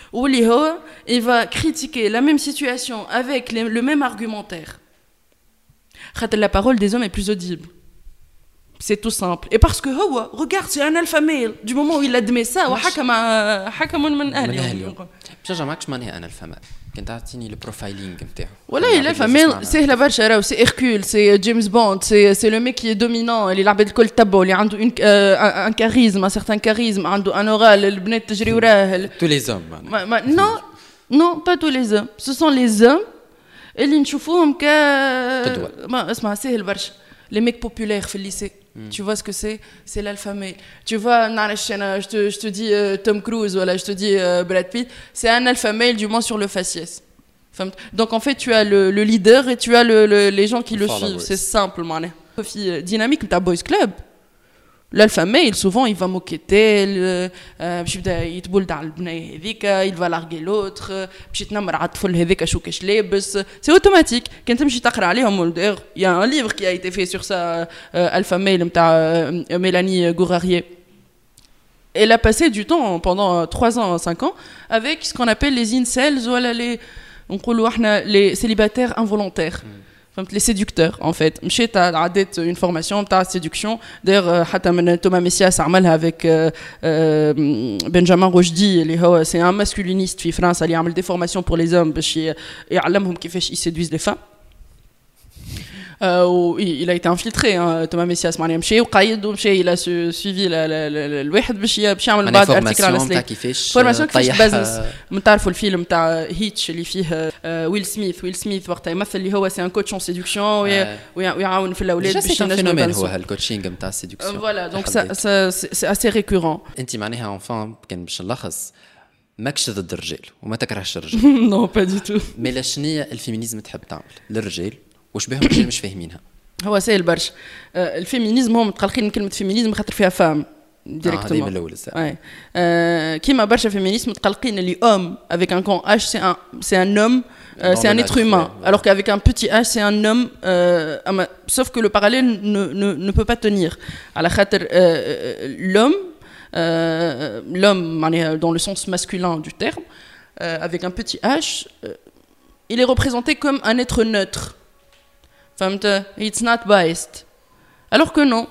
Ou il va critiquer la même situation avec les, le même argumentaire. La parole des hommes est plus audible. C'est tout simple. Et parce que, oh, regarde, c'est un alpha male. Du moment où il admet ça, وحكم حكم من أهله. باش معكش معناها أنا الفا ميل. كنت تعطيني البروفايلينغ نتاعو. والله الالفا ميل c'est la vache راهو c'est Hercule, c'est James Bond, c'est c'est le mec qui est dominant, اللي العباد الكل تبعوا, اللي عنده une un charisme, un certain charisme, عنده un oral, البنات تجري وراه. Tous les hommes. Non, non, pas tous les hommes. Ce sont les hommes اللي نشوفوهم ك ما اسمع سهل برشا. Les mecs populaires في lycée. Mm. Tu vois ce que c'est? C'est l'alpha male. Tu vois, je te, je te dis euh, Tom Cruise, voilà, je te dis euh, Brad Pitt, c'est un alpha male du moins sur le faciès. Enfin, donc en fait, tu as le, le leader et tu as le, le, les gens qui le suivent. C'est simple, man. Dynamique, tu as Boys Club. L'alpha male, souvent, il va moqueter, il va larguer l'autre, c'est automatique. Il y a un livre qui a été fait sur ça, Alpha Male, Mélanie Gourarier. Elle a passé du temps, pendant trois ans, cinq ans, avec ce qu'on appelle les incels, ou les, les célibataires involontaires. Les séducteurs en fait. J'ai fait une formation de séduction. D'ailleurs, Thomas Messias a fait avec euh, euh, Benjamin Rochdy. C'est un masculiniste en France. Il a fait des formations pour les hommes et il a appris comment ils séduisent les femmes. Euh, il a été infiltré, hein, Thomas Messias. Il a suivi le واحد باش يعمل بعض articles على السليك. Formation كيفاش business. متعرفوا الفيلم تاع هيتش اللي فيه ويل سميث. ويل سميث وقتها يمثل اللي هو سي ان كوتش اون سيدكسيون ويعاون في الاولاد باش ينجموا يبانسوا. هو هالكوتشينغ نتاع السيدكسيون. Voilà, donc ça c'est assez récurrent. انت معناها enfin كان باش نلخص ماكش ضد الرجال وما تكرهش الرجال. Non, pas du tout. مي شنو الفيمينيزم تحب تعمل للرجال وش بهم الرجال مش فاهمينها؟ هو سهل برشا. آه الفيمينيزم هم متقلقين من كلمه فيمينيزم خاطر فيها فام ديريكتومون. اه من الاول صح. آه كيما برشا فيمينيزم متقلقين اللي homme avec un grand H c'est un c'est un homme euh, c'est un être humain ouais. Alors qu'avec un petit H c'est un homme euh, sauf que le parallèle ne ne ne peut pas tenir. على خاطر euh, l'homme euh, l'homme dans le sens masculin du terme euh, avec un petit H euh, il est représenté comme un être neutre. It's not biased. Alors que non.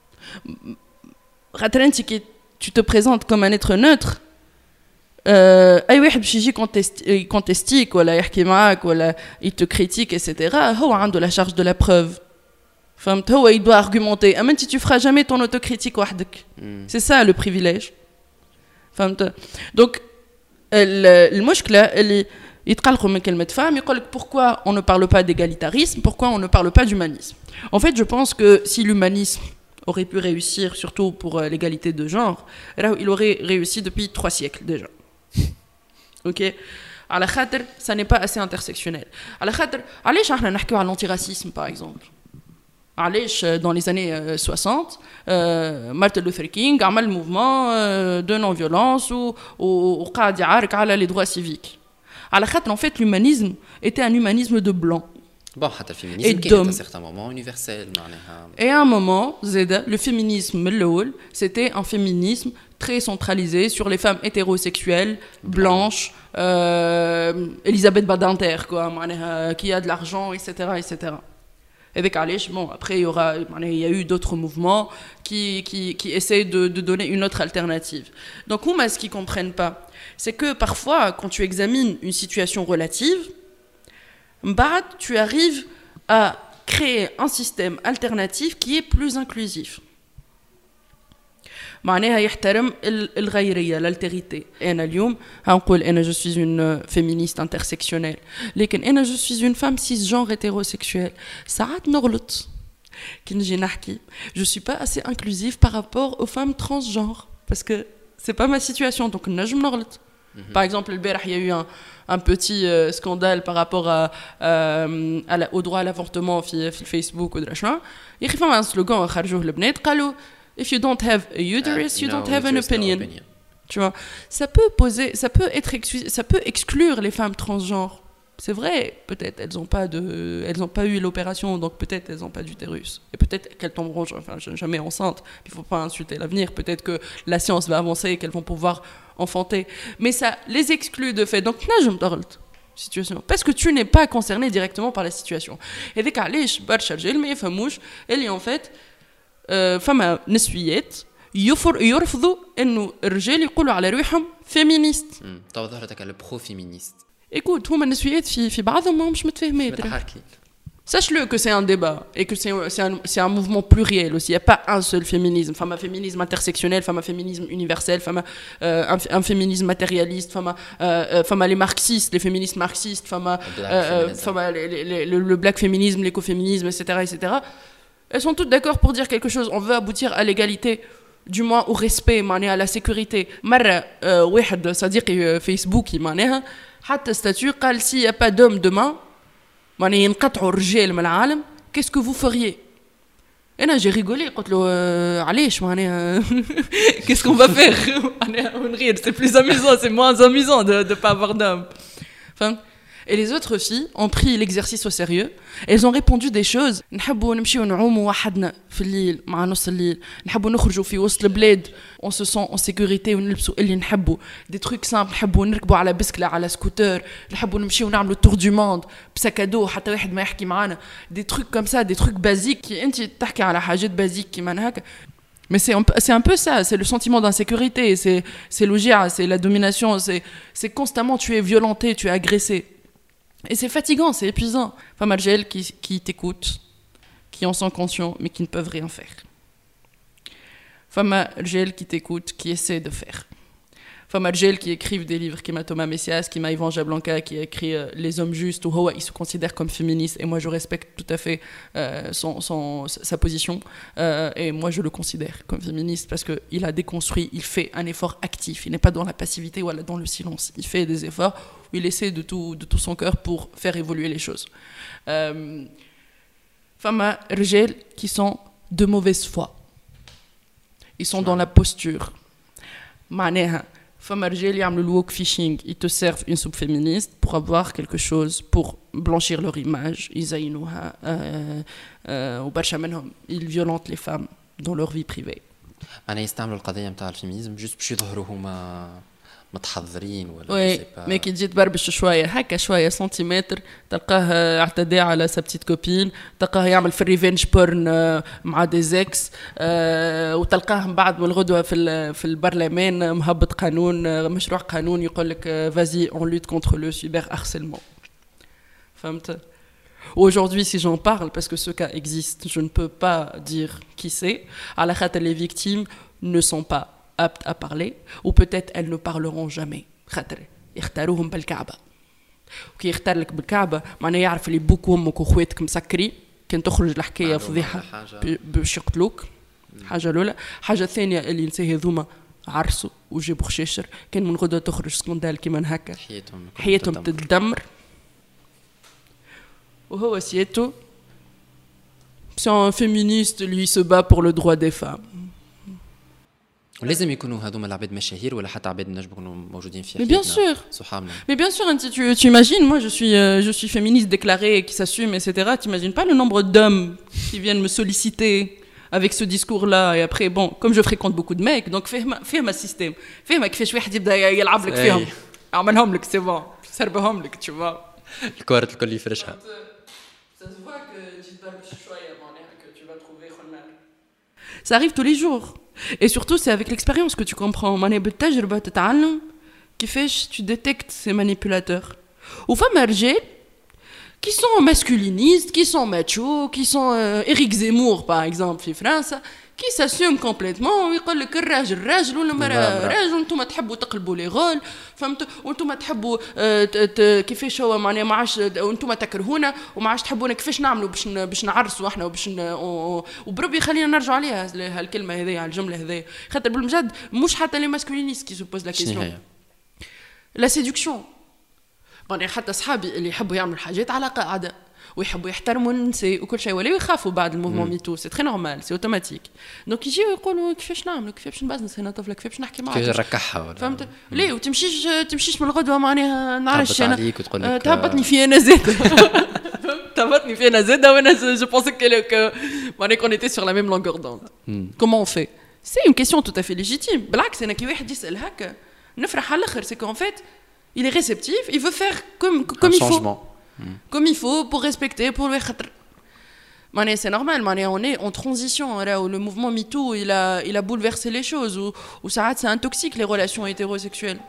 Tu te présentes comme un être neutre. أي واحد باش يجي contestique ولا يحكي معاك ولا il te critique et cetera. هو عنده la charge de la preuve. فهمت هو il doit argumenter. Même si tu feras jamais ton autocritique وحدك. C'est ça le privilège. فهمت. Donc المشكلة اللي يتقلقوا من كلمة femme, يقولك pourquoi on ne parle pas d'égalitarisme, pourquoi on ne parle pas d'humanisme. En fait, je pense que si l'humanisme aurait pu réussir, surtout pour euh, l'égalité de genre, il aurait réussi depuis trois siècles déjà. Ok. À la khater, ça n'est pas assez intersectionnel. À la khater, allez, on a parlé de l'antiracisme par exemple. Allez, dans les années euh, soixante, euh, Martin Luther King a fait le mouvement euh, de non-violence ou ou قاعد يعارك على les droits civiques. À la khater, en fait, l'humanisme était un humanisme de blanc. Bon, le féminisme qui est à un certain moment universel. Et à un moment, Zeda, le féminisme, c'était un féminisme très centralisé sur les femmes hétérosexuelles, blanches, euh, Elisabeth Badinter, quoi, qui a de l'argent, et cetera, et cetera. Avec Alish, bon, après, il y aura, il y a eu d'autres mouvements qui, qui, qui essayent de, de donner une autre alternative. Donc, ce qu'ils ne comprennent pas, c'est que parfois, quand tu examines une situation relative, tu arrives à créer un système alternatif qui est plus inclusif. معناها يحترم الغيرية l'altérité. أنا اليوم هنقول أنا je suis une féministe intersectionnelle. لكن أنا je suis une femme cisgenre hétérosexuelle. ساعات نغلط. كي نجي نحكي je suis pas assez inclusive par rapport aux femmes transgenres parce que c'est pas ma situation donc نجم نغلط. Par exemple, البارح il y a eu un un petit euh, scandale par rapport à, euh, à la, au droit à l'avortement في في Facebook ou دراشنا. يا أخي فما un slogan خرجوه البنات قالوا if you don't have a uterus, uh, you no, don't have an opinion. No opinion. Tu vois, ça peut poser, ça peut être, ça peut exclure les femmes transgenres. c'est vrai, peut-être elles n'ont pas de, elles ont pas eu l'opération, donc peut-être elles n'ont pas d'utérus. Et peut-être qu'elles tomberont enfin, jamais enceintes. Il ne faut pas insulter l'avenir. Peut-être que la science va avancer et qu'elles vont pouvoir enfanter. Mais ça les exclut de fait. Donc, je me parle. Situation. Parce que tu n'es pas concerné directement par la situation. Et dès qu'Alish Barcha Rjel, mais Famouche, elle est en fait, femme nessuiette, يرفضوا إنه الرجال يقولوا على روحهم féministes. طبعا ظهرتك على برو فيمينيست. Écoute, هما النسويات في في بعضهم مش متفاهمين. Sache-le que c'est un débat et que c'est, c'est, un, c'est un mouvement pluriel aussi. Il n'y a pas un seul féminisme. Femme à féminisme intersectionnel, femme à féminisme universel, femme à euh, un, un féminisme matérialiste, femme à, euh, femme à les marxistes, les féministes marxistes, femme à, euh, femme à les, les, les, le black féminisme, l'écoféminisme, et cetera, et cetera. Elles sont toutes d'accord pour dire quelque chose. On veut aboutir à l'égalité, du moins au respect, à la sécurité. مرة واحد صديقي فيسبوكي معناها حتى statut قال s'il n'y a pas d'homme demain معناها ينقطعوا الرجال من العالم qu'est-ce que vous feriez. انا j'ai rigolé قلت له علاش معناها qu'est-ce qu'on va faire معناها ونغير c'est plus amusant c'est moins amusant de de pas avoir d'homme. Enfin, et les autres filles ont pris l'exercice au sérieux. Elles ont répondu des choses. نحبوا نمشيو نعوموا وحدنا في الليل مع نص الليل. نحبوا نخرجوا في وسط البلاد. On se sent en sécurité ونلبسوا اللي نحبوا. Des trucs simples. نحبوا نركبوا على بسكلة على سكوتر. نحبوا نمشيو نعملوا tour du monde بسكادو حتى واحد ما يحكي معانا. Des trucs comme ça, des trucs basiques. أنت تحكي على حاجات basiques كيما هكا. Mais c'est un, c'est un peu ça, c'est le sentiment d'insécurité, c'est, c'est l'ogia, c'est la domination, c'est, c'est constamment tu es violenté, tu es agressé. Et c'est fatigant, c'est épuisant. Femmes algériennes qui, qui t'écoutent, qui en sont conscients, mais qui ne peuvent rien faire. Femmes algériennes qui t'écoutent, qui essaient de faire. Femmes algériennes qui écrivent des livres, qui m'a Thomas Messias, qui m'a Yvan Jablanca, qui a écrit euh, Les hommes justes, ou Hoa, ils se considèrent comme féministes, et moi je respecte tout à fait euh, son, son, sa position, euh, et moi je le considère comme féministe, parce qu'il a déconstruit, il fait un effort actif, il n'est pas dans la passivité ou dans le silence, il fait des efforts où il essaie de tout, de tout son cœur pour faire évoluer les choses. Euh, femmes algériennes qui sont de mauvaise foi, ils sont dans la posture. معناها فما رجال يعملوا الوك فيشينغ ils te servent une soupe féministe pour avoir quelque chose pour blanchir leur image يزينوها وبرشا منهم ils violentent les femmes dans leur vie privée. أنا يستعملوا القضية متاع الفيمينيزم جوست باش يظهروا هما متحضرين ولا وي مي كي تجي تبربش شويه هكا شويه سنتيمتر تلقاه اعتدى على سا بتيت كوبين تلقاه يعمل في الريفينج بورن مع دي زيكس أه وتلقاه من بعد من الغدوه في في البرلمان مهبط قانون مشروع قانون يقول لك فازي اون لوت كونتر لو سيبر هارسيلمون. فهمت. Aujourd'hui, si j'en parle, parce que ce cas existe, je ne peux pas dire qui c'est. À la khata, les victimes ne sont pas aptes à parler, ou peut-être elles ne parleront jamais. خاطر يختاروهم بالكعبة. وكي يختار لك بالكعبة معناه يعرف اللي بوك وامك وخواتك مسكري كان تخرج الحكاية فضيحة باش يقتلوك. حاجة الأولى. حاجة ثانية اللي نساه هذوما عرسوا وجابوا خشاشر كان من غدوة تخرج سكندال كيما هكا. حياتهم حياتهم تدمر. وهو سيتو c'est un féministe, lui se bat pour le droit des femmes. ولازم يكونوا هذوما العباد مشاهير ولا حتى عباد نجم يكونوا موجودين في حياتنا. Mais bien sûr. صحابنا. Mais bien sûr, tu, tu imagines, moi je suis, euh, je suis féministe déclarée, qui s'assume, et cetera. Tu imagines pas le nombre d'hommes qui viennent me solliciter avec ce discours-là, et après, bon, comme je fréquente beaucoup de mecs, donc fais ma système. Fais ma كيفاش واحد يبدا يلعب لك فيهم. اعملهم لك c'est bon. سربهم لك, tu vois. الكوارت الكل يفرشها. Ça se voit que tu te balles choya que tu vas trouver khonal. Ça arrive tous les jours. Et surtout, c'est avec l'expérience que tu comprends. معناها بالتجربة تتعلم كيفاش tu détectes ces manipulateurs. وفما رجال qui sont masculinistes, qui sont machos, qui sont euh, Éric Zemmour par exemple في فرنسا qui s'assume complètement ويقول لك الراجل راجل والمرأة راجل وانتم تحبوا تقلبوا لي غول فهمت وانتم تحبوا كيفاش هو معناها ما عادش وانتم تكرهونا وما عادش تحبونا كيفاش نعملوا باش باش نعرسوا احنا وباش وبربي خلينا نرجعوا عليها هالكلمه هذه على الجمله هذه خاطر بالمجد مش حتى لي ماسكولينيست كي سو بوز لا كيسيون لا سيدكسيون معناها حتى اصحابي اللي يحبوا يعملوا حاجات على قاعده ويحبوا يحترموا النساء وكل شيء ولا يخافوا بعد الموفمون ميتو سي تري نورمال سي اوتوماتيك دونك يجيو يقولوا كيفاش نعملوا كيفاش نبزنس هنا طفله كيفاش نحكي معاك كيفاش نركحها فهمت ليه وتمشيش تمشيش من الغدوه معناها نعرفش انا تهبطني في انا زاد تهبطني في انا زاد وانا جو بونسي كو معناها كون ايتي سور لا ميم لونغور دوند كومون اون في سي اون كيسيون تو افي ليجيتيم بالعكس انا كي واحد يسال هكا نفرح على الاخر سي كون فيت il est réceptif il veut faire comme comme il faut comme il faut pour respecter pour le خاطر معناها c'est normal معناها on est en transition là où le mouvement MeToo il a il a bouleversé les choses où où ça ça intoxique les relations hétérosexuelles.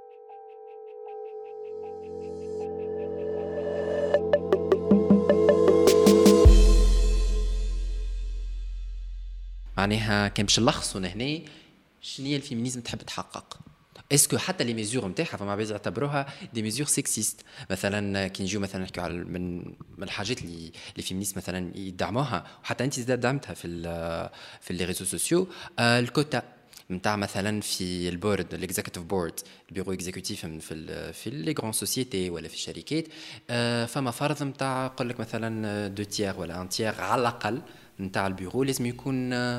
معناها كان باش نلخصوا هنا شنو هي الفيمينيزم تحب تحقق اسكو حتى لي ميزور نتاعها فما بعض يعتبروها دي ميزور سكسيست مثلا كي نجيو مثلا نحكيو على من من الحاجات اللي لي فيمينيست مثلا يدعموها وحتى انت زاد دعمتها في ال في لي ريزو سوسيو الكوتا نتاع مثلا في البورد الاكزيكتيف بورد البيرو اكزيكوتيف في ال في لي غران سوسيتي ولا في الشركات فما فرض نتاع يقول لك مثلا دو تيير ولا ان تيير على الاقل نتاع البيرو لازم يكون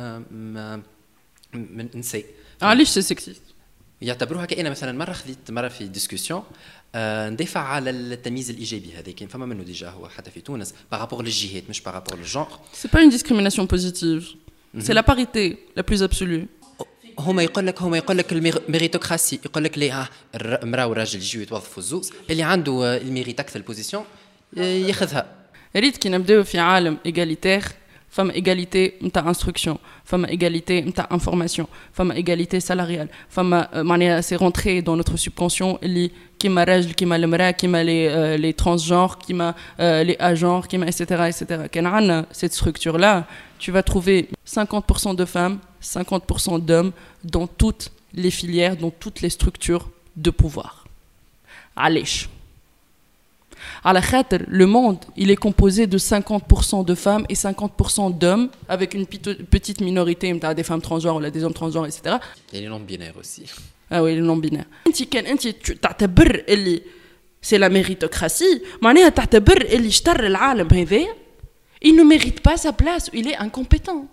من نساء. علاش سي سكسيست؟ يعتبروها كأنه مثلا مرة خذيت مرة في ديسكوسيون آه ندافع على التمييز الإيجابي هذا كان فما منه ديجا هو حتى في تونس بارابور للجهات مش بارابور للجونغ. سي با اون ديسكريميناسيون بوزيتيف سي لا باريتي لا بلوز ابسولو. هما يقول لك هما يقول لك الميريتوكراسي يقول لك ليه المرأة والراجل يجيو يتوظفوا الزوز اللي عنده الميريت أكثر البوزيسيون ياخذها. ريت كي نبداو في عالم إيغاليتير فما égalité نتاع انستركسيون فما égalité نتاع انفورماسيون فما égalité سالاريال فما معناها سي رونتري دون نوتر سوبكونسيون اللي كيما الراجل كيما المراه كيما لي لي ترانسجونر كيما لي اجونر كيما ايتترا ايتترا كان عندنا cette structure là tu vas trouver cinquante pour cent de femmes cinquante pour cent d'hommes dans toutes les filières dans toutes les structures de pouvoir. علاش على خاطر le monde il est composé de cinquante pour cent de femmes et cinquante pour cent d'hommes avec une petite minorité نتاع des femmes transgenres ولا des hommes transgenres et cetera. Et les non binaires aussi. Ah oui les non binaires. انت كان انت تعتبر اللي c'est la méritocratie معناها تعتبر اللي اشتر العالم هذا il ne mérite pas sa place il est incompétent.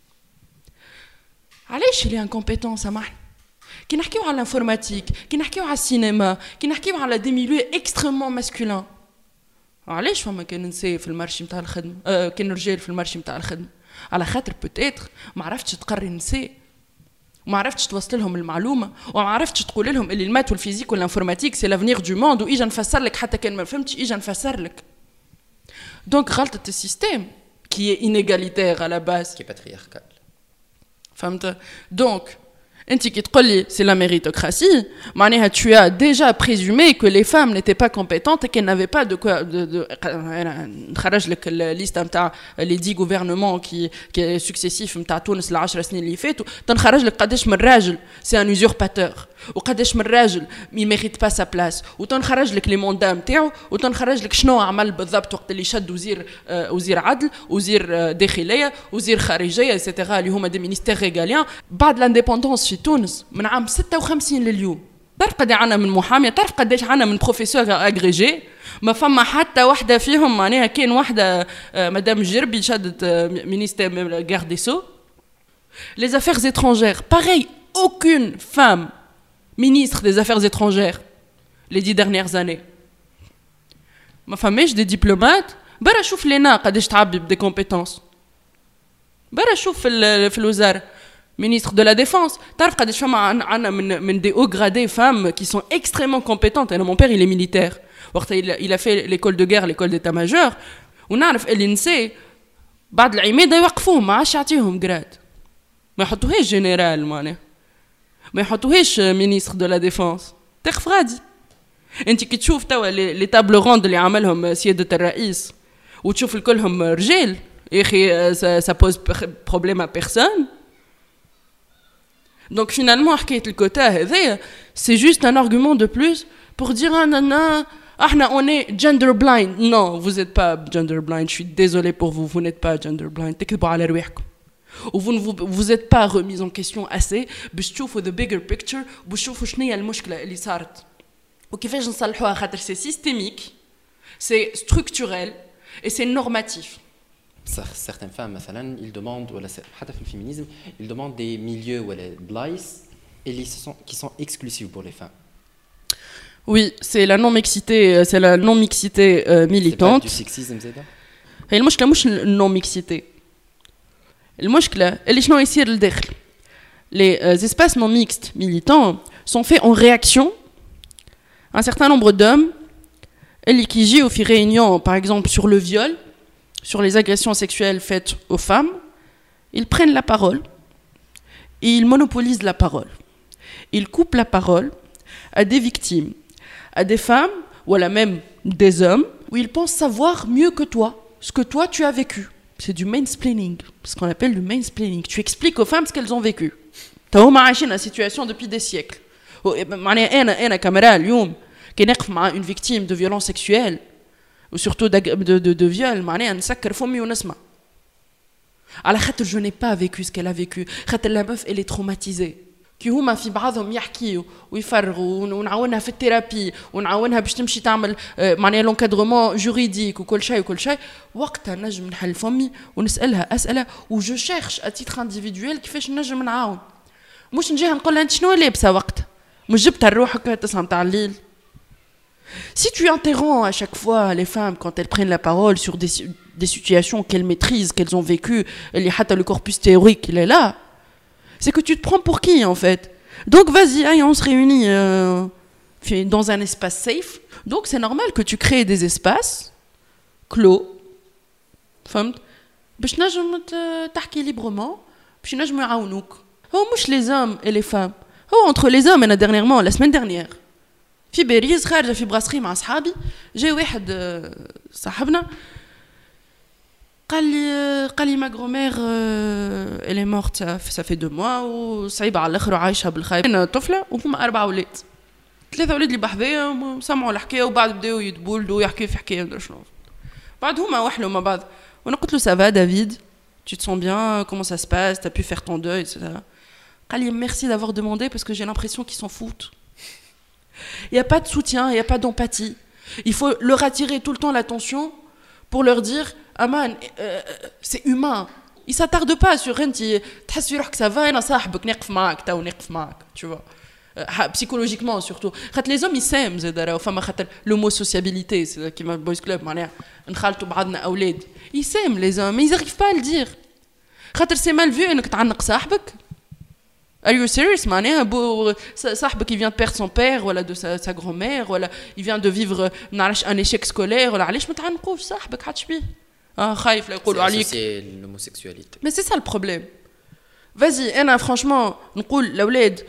علاش il est incompétent سامحني؟ كي نحكيو على الانفورماتيك كي نحكيو على السينما كي نحكيو على دي ميليو اكستريمون ماسكولين علاش فما كان نساء في المارشي نتاع الخدمه آه كان رجال في المارشي نتاع الخدمه على خاطر بوتيتر ما عرفتش تقري النساء وما عرفتش توصل لهم المعلومه وما عرفتش تقول لهم اللي المات والفيزيك والانفورماتيك سي لافنير دو موند واجا نفسر لك حتى كان ما فهمتش اجا نفسر لك دونك غلطه السيستيم كي اي انيغاليتير على باز كي باترياركال فهمت دونك انت كي تقول لي سي لا ميريتوكراسي معناها tu as déjà présumé que les femmes n'étaient pas compétentes et qu'elles n'avaient pas de quoi de, de نخرج لك الليست نتاع لي دي غوفرنمون كي كي سكسيسيف نتاع تونس العشر سنين اللي فاتوا تنخرج لك قداش من راجل سي ان يوزورباتور وقداش من راجل مي ميريت با سا بلاس وتنخرج لك لي موندا نتاعو وتنخرج لك شنو عمل بالضبط وقت اللي شد وزير وزير عدل وزير داخليه وزير خارجيه ايتترا اللي هما دي مينيستير ريغاليان بعد لانديبوندونس في تونس من عام ستة وخمسين لليوم. تعرف قد عنا من محاميه تعرف قداش عنا من بروفيسور اغريجي ما فما حتى واحده فيهم معناها كان واحده مدام جربي شدت مينيستير غارد دي سو les affaires étrangères pareil aucune femme ministre des affaires étrangères les dix dernières années ما فماش دي دبلومات برا شوف لنا قداش تعبي بدي كومبيتونس برا شوف في في الوزاره ministre de la défense تعرف قداش فما عنا من من des hauts gradés femmes qui sont extrêmement compétentes et mon père il est militaire وقت il a fait l'école de guerre l'école d'état-major ونعرف اللي نساء بعد العماده يوقفوهم ما عادش يعطيهم جراد ما يحطوهاش جنرال معناها ما يحطوهاش ministre de la défense تخف غادي انت كي تشوف توا لي تابل روند اللي عملهم سياده الرئيس وتشوف الكلهم رجال يا اخي ça pose problème à personne. Donc finalement حكايه الكوتا هذا c'est juste un argument de plus pour dire ah nana احنا on est gender blind. Non, vous êtes pas gender blind, je suis désolé pour vous, vous n'êtes pas gender blind. تكذبوا على رواحكم. و vous ne vous, vous êtes pas remis en question assez باش تشوفوا the bigger picture باش تشوفوا شنو هي المشكله اللي صارت وكيفاش نصلحوها خاطر c'est systémique, c'est structurel et c'est normatif. Certaines femmes مثلا ils demandent ولا حتى في الفيمينيزم ils demandent des milieux ولا بلايص اللي sont qui sont exclusifs pour les femmes. Oui, c'est la non-mixité, c'est la non-mixité euh, militante. C'est pas du sexisme زيدا. هي المشكلة مش non-mixité. المشكلة اللي شنو يصير لداخل. Les euh, espaces non mixtes militants sont faits en réaction à un certain nombre d'hommes qui jouent aux réunions, par exemple sur le viol, sur les agressions sexuelles faites aux femmes. Ils prennent la parole et ils monopolisent la parole. Ils coupent la parole à des victimes, à des femmes ou à la même des hommes où ils pensent savoir mieux que toi ce que toi tu as vécu. C'est du mansplaining, ce qu'on appelle du mansplaining. Tu expliques aux femmes ce qu'elles ont vécu. Tu as imaginé la situation depuis des siècles. أنا أنا كاميرا اليوم كي نقف مع une victime de violence sexuelle ou surtout de de de, de viol معناها نسكر فمي ونسمع. على خاطر je n'ai pas vécu ce qu'elle a vécu. خاطر la meuf elle est traumatisée. كي هما في بعضهم يحكيوا ويفرغوا ونعاونها في الثيرابي ونعاونها باش تمشي تعمل معناها لونكادرومون جوريديك وكل شيء وكل شيء وقتها نجم نحل فمي ونسالها اسئله وجو شيرش ا تيتر انديفيدويل كيفاش نجم نعاون مش نجيها نقول لها انت شنو لابسه وقتها مش جبتها لروحك تسعة نتاع الليل. Si tu interromps à chaque fois les femmes quand elles prennent la parole sur des, des situations qu'elles maîtrisent, qu'elles ont vécues, le corpus théorique il est là, c'est que tu te prends pour qui en fait. Donc vas-y, allez, on se réunit euh, dans un espace safe. Donc c'est normal que tu crées des espaces clos, فهمت؟ باش نجم تحكي librement, باش نجم يعاونوك. هو مش les hommes et les femmes. هو entre les hommes. أنا dernièrement, la semaine dernière, في باريس خارجة في براسخي مع أصحابي جاي واحد صاحبنا قال لي قال لي ما غرومير elle est morte ça fait deux mois وصعيبة على الآخر وعايشة بالخايب. أنا طفلة وهما أربعة أولاد ثلاثة أولاد اللي بحذايا سمعوا الحكاية وبعد بداوا يتبولدوا ويحكيوا في حكاية مدري شنو بعد هما وحلوا مع بعض وأنا قلت له ça va David tu te sens bien comment ça se passe t'as pu faire ton deuil et cetera. قال لي merci d'avoir demandé parce que j'ai l'impression qu'ils s'en foutent. Il n'y a pas de soutien, il n'y a pas d'empathie. Il faut leur attirer tout le temps l'attention pour leur dire Aman, euh, c'est humain. Ils ne s'attardent pas sur un petit. Tu sais que ça va, et tu vois. Euh, psychologiquement surtout. Les hommes ils s'aiment, l'homosociabilité, c'est qui m'a boys club, ils s'aiment les hommes, mais ils n'arrivent pas à le dire. C'est mal vu que tu as Are you serious, معناها بو صاحبك qui vient de perdre son père ولا de sa, sa grand-mère ولا il vient de vivre نعرفش un échec scolaire ولا علاش ما تعنقوش صاحبك حدش بيه اه خايف لا يقولوا عليك c'est l'homosexualité. Mais c'est ça le problème. Vas-y انا franchement نقول الاولاد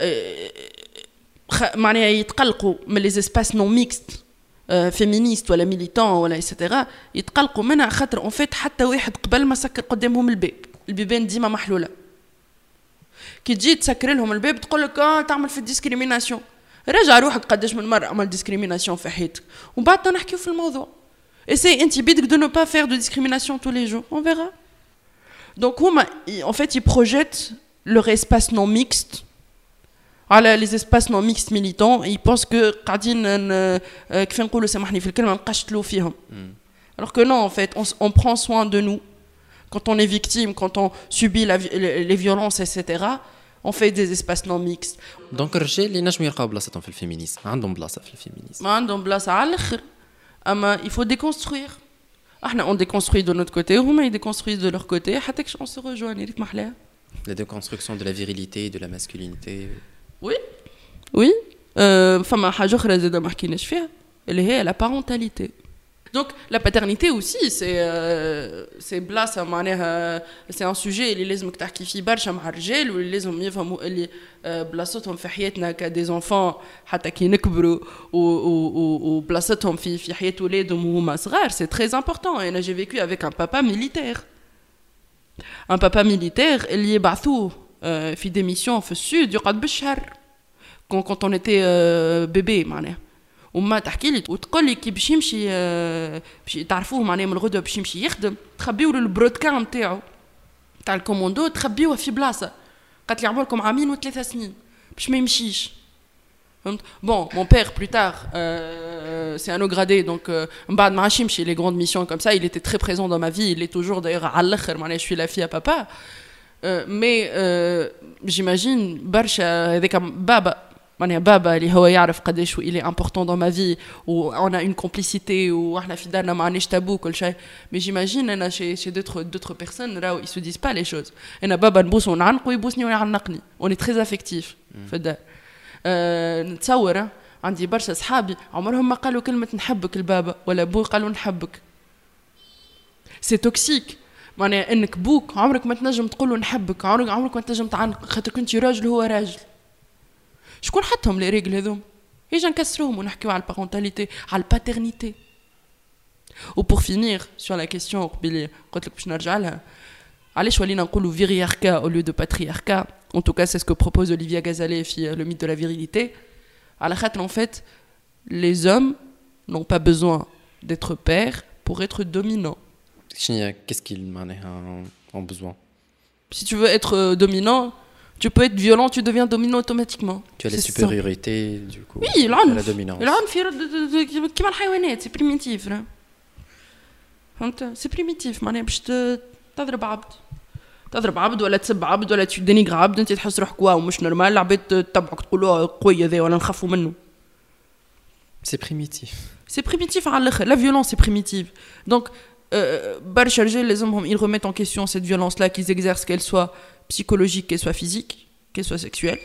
معناها يتقلقوا من les espaces non mixtes féministes ولا militants ولا etc يتقلقوا منها خاطر en fait حتى واحد قبل ما سكر قدامهم الباب البيبان ديما محلوله. كي تجي تسكر لهم الباب تقول لك اه تعمل في الديسكريميناسيون راجع روحك قداش من مره عمل ديسكريميناسيون في حياتك ومن بعد نحكيو في الموضوع. Essaye انت بيدك de ne pas faire de discrimination tous les jours on verra. Donc هما en fait ils projettent leur espace non mixte على les espaces non mixtes militants et ils pensent que قاعدين كيف نقولوا سامحني في الكلمه نقشطلوا فيهم. Alors que non en fait on, on prend soin de nous. Quand on est victime, quand on subit la, les, les violences, et cetera, on fait des espaces non mixtes. Donc, الرجال اللي نجموا يلقاو بلاصتهم في الفيمينيزم، عندهم بلاصة في الفيمينيزم. ما عندهم بلاصة على الآخر. أما il faut déconstruire. احنا on déconstruit de notre côté, وهما ils déconstruisent de leur côté, حتى كش on se rejoigne. ريت محلاها. La déconstruction de la virilité, de la masculinité. Oui, oui. Euh, فما حاجة أخرى زادة ما حكيناش فيها اللي هي la parentalité. Donc la paternité aussi c'est euh, c'est بلاصه معناها c'est un sujet اللي لازمك تحكي فيه برشا مع الرجال واللي لازم يفهموا اللي بلاصتهم في حياتنا كدي enfants حتى كي نكبروا وبلاصتهم في في حياه ولادهم وهما صغار c'est très important. Et j'ai vécu avec un papa militaire un papa militaire اللي يبعثوه في des missions في السود يقعد بالشهر quand quand on était bébé معناها وما تحكي لي وتقول لي كي باش يمشي باش تعرفوه معناها من الغدوه باش يمشي يخدم تخبيو له البرودكا نتاعو تاع الكوموندو تخبيوه في بلاصه قالت لي عمركم عامين وثلاثة سنين باش ما يمشيش فهمت. Bon mon père plus tard euh, c'est un haut gradé, donc بعد ما عادش يمشي les grandes missions comme ça, il était très présent dans ma vie, il est toujours d'ailleurs على الآخر معناها je suis la fille à papa. Euh, mais euh, j'imagine برشا هذاك بابا معناها بابا اللي هو يعرف قداش il est important dans ma vie و on a une complicité و احنا في دارنا ما عندناش تابو كل شيء. Mais j'imagine انا chez chez d'autres d'autres personnes راهو ils se disent pas les choses. انا بابا نبوس ونعنق ويبوسني ويعنقني. On est très affectif في الدار. أه نتصور عندي برشا صحابي عمرهم ما قالوا كلمة نحبك البابا ولا بو قالوا نحبك. سي توكسيك معناها انك بوك عمرك ما تنجم تقول له نحبك، عمرك عمرك ما تنجم تعنق خاطر كنت راجل هو راجل. شكون حطهم لي ريغل هذوم؟ يجي نكسروهم ونحكيو على البارونتاليتي على الباترنيتي. و بور فينير سور لا كيسيون قبيله قلت لك باش نرجع لها علاش ولينا نقولوا فيرياركا او ليو دو باترياركا. En tout cas, c'est ce que propose Olivia Gazalet, le mythe de la virilité. À la khatle, en fait, les hommes n'ont pas besoin d'être pères pour être dominants. Qu'est-ce qu'ils ont besoin? Si tu veux être dominant, tu peux être violent, tu deviens dominant automatiquement. Tu as la supériorité, du coup. Oui, l'anf. La dominance. L'anf, comme les animaux, c'est primitif. C'est primitif. معناها باش تضرب عبد. تضرب عبد ولا تسب عبد ولا تدينيغ عبد انت تحس روحك واو مش نورمال العباد تتبعك تقولوا قوي هذا ولا نخافوا منه. سي بريميتيف سي بريميتيف على الاخر. لا فيولونس سي بريميتيف. دونك برشا رجال لازمهم ils remettent en question cette violence là qu'ils exercent, qu'elle soit psychologique, qu'elle soit physique, qu'elle soit sexuelle.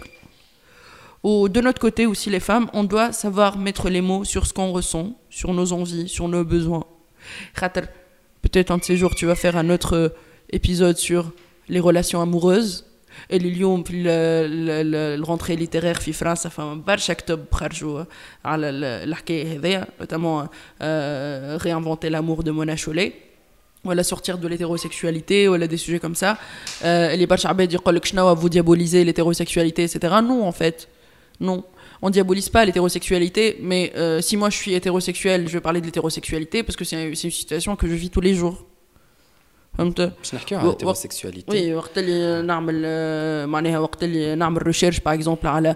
Ou de notre côté aussi les femmes, on doit savoir mettre les mots sur ce qu'on ressent, sur nos envies, sur nos besoins. Peut-être un de ces jours tu vas faire un autre épisode sur les relations amoureuses. اللي اليوم في الرونتري ليتيرير في فرنسا فما برشا كتب خرجوا على الحكايه هذيا notamment euh, réinventer l'amour de Mona Chollet ولا sortir de l'hétérosexualité ولا des sujets comme ça. اللي برشا عباد يقول لك شنو vous diabolisez l'hétérosexualité et cetera. Non en fait non, on diabolise pas l'hétérosexualité, mais euh, si moi je suis hétérosexuel, je vais parler de l'hétérosexualité parce que c'est, c'est une situation que je vis tous les jours. باش نحكيو على الهيتيروسيكسواليتي. وي وقت اللي نعمل معناها وقت اللي نعمل ريشيرش باغ اكزومبل على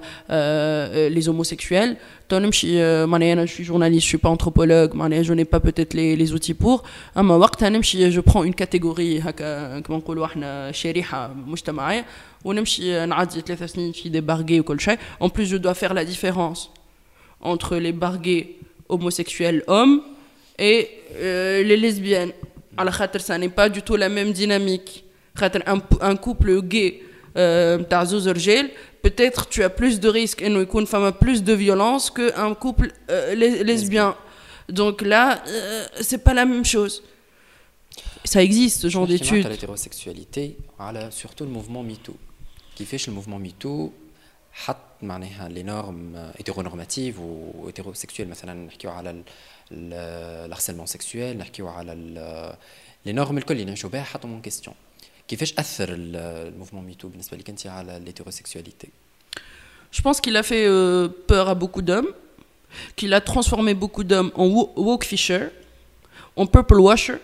لي زوموسيكسويل تو نمشي معناها انا شوي جورناليست شوي با انثروبولوج معناها جو ني با بوتيت لي لي زوتي بور. اما وقتها نمشي جو برون اون كاتيجوري هكا كما نقولوا احنا شريحه مجتمعيه ونمشي نعدي ثلاث سنين في دي بارغي وكل شيء. En plus je dois faire la différence entre les bargués homosexuels hommes et euh, les lesbiennes. على خاطر ça n'est pas du tout la même dynamique. خاطر un, un couple gay تاع زوز رجال peut-être tu as plus de risques انه يكون فما plus de violence que un couple euh, lesbien. Donc là euh, c'est pas la même chose. Ça existe ce genre d'études. على l'hétérosexualité على surtout le mouvement MeToo. كيفاش le mouvement MeToo حط معناها les normes hétéronormatives ou hétérosexuelles مثلا نحكيو على الharcèlement sexuel نحكيو على les normes الكل اللي نعيشوا بها حطوا من question. كيفاش أثر الموفمون ميتو بالنسبة لك أنت على l'hétérosexualité? Je pense qu'il a fait euh, peur à beaucoup d'hommes, qu'il a transformé beaucoup d'hommes en woke fisher, en purple washer.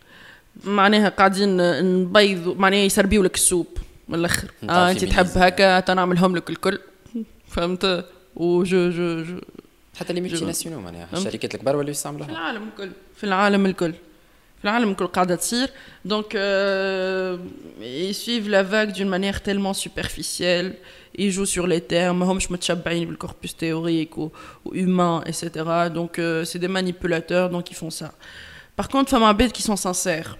معناها قاعدين نبيض معناها يسربيوا لك السوب من الآخر. آه أنت تحب هكا تنعملهم لك الكل. فهمت؟ وجو جو جو حتى لي ملتي ناسيونال معناها الشركات الكبار ولاو يستعملوها في العالم الكل في العالم الكل في العالم الكل قاعده تصير. Donc euh, ils suivent la vague d'une manière tellement superficielle, ils jouent sur les termes, ماهمش متشبعين بالcorpus théorique ou, ou humain et cetera. Donc euh, c'est des manipulateurs donc ils font ça. Par contre فما عباد qui sont sincères,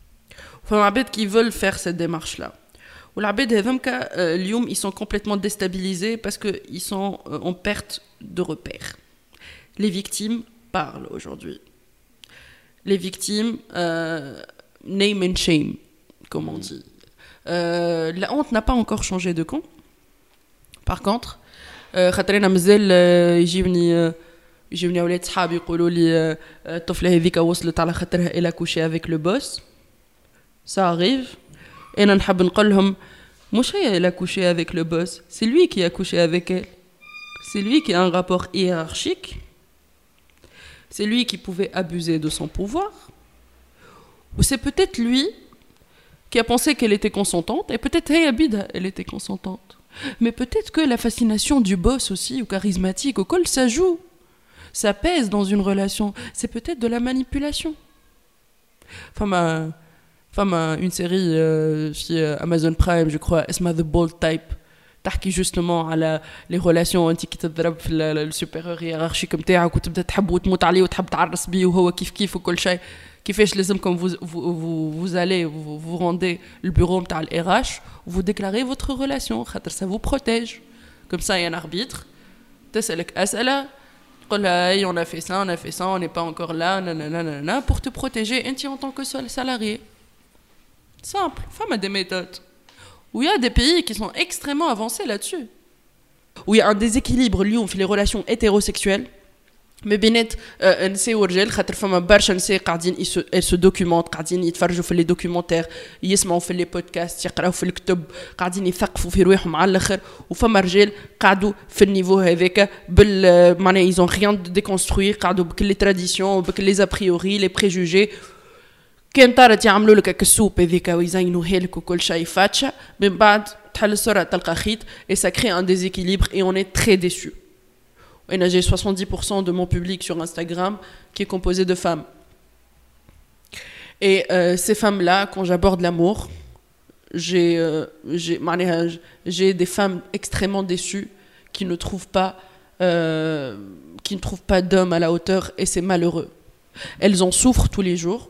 فما عباد qui veulent faire cette démarche là. والعباد هذوك اليوم ils sont complètement déstabilisés parce que ils sont en perte de repères. Les victimes parlent aujourd'hui. Les victimes, euh, name and shame, comme on dit. Euh, la honte n'a pas encore changé de camp. Par contre, خاطر انا مازال يجيوني يجيوني اولاد صحابي يقولوا لي الطفله هذيك وصلت على خاطرها الى كوشي avec le boss. Ça arrive. انا نحب نقول لهم مش هي الى كوشي avec le boss, c'est lui qui a couché avec elle. C'est lui qui a un rapport hiérarchique. C'est lui qui pouvait abuser de son pouvoir. Ou c'est peut-être lui qui a pensé qu'elle était consentante. Et peut-être hey, Abida, elle était consentante. Mais peut-être que la fascination du boss aussi, ou charismatique, au col, ça joue. ça pèse dans une relation. C'est peut-être de la manipulation. Enfin, ma, enfin ma, une série euh, chez Amazon Prime, je crois, اسمها The Bold Type, تحكي justement على les relations انت كي تضرب في السوبيريور هيرارشيك نتاعك وتبدا تحب وتموت عليه وتحب تعرس بيه وهو كيف كيف وكل شيء. كيفاش لازمكم vous vous vous allez vous vous rendez le bureau نتاع ال R H, vous déclarez votre relation خاطر ça vous protège. Comme ça, il y a un arbitre. تسألك أسئلة تقول لها on a fait ça, on a fait ça, on n'est pas encore là, nanana, nanana, pour te protéger انت en tant que seul salarié. Simple. Femme a des méthodes. Où il y a des pays qui sont extrêmement avancés là-dessus. Où il y a un déséquilibre lié aux relations hétérosexuelles. Mais بينات نساء ورجال خاطر فما برشا نساء قاعدين elles se documentent قاعدين يتفرجوا في لي دوكيومونتير يسمعوا في لي بودكاست يقراوا في الكتب قاعدين يثقفوا في رواحهم على الاخر وفما رجال قاعدوا في النيفو هذاك بال معناها ils ont rien de déconstruire قاعدوا بكل لي تراديسيون وبكل لي ابريوري لي بريجوجي كان طارت يعملوا لك السوب هذيك ويزينوها لك وكل شيء فاتشه من بعد تحل الصوره تلقى خيط et ça crée un déséquilibre et on est très déçus. Et j'ai soixante-dix pour cent de mon public sur Instagram qui est composé de femmes. Et euh, ces femmes-là, quand j'aborde l'amour, j'ai, euh, j'ai, j'ai des femmes extrêmement déçues qui ne trouvent pas, euh, qui ne trouvent pas d'hommes à la hauteur, et c'est malheureux. Elles en souffrent tous les jours.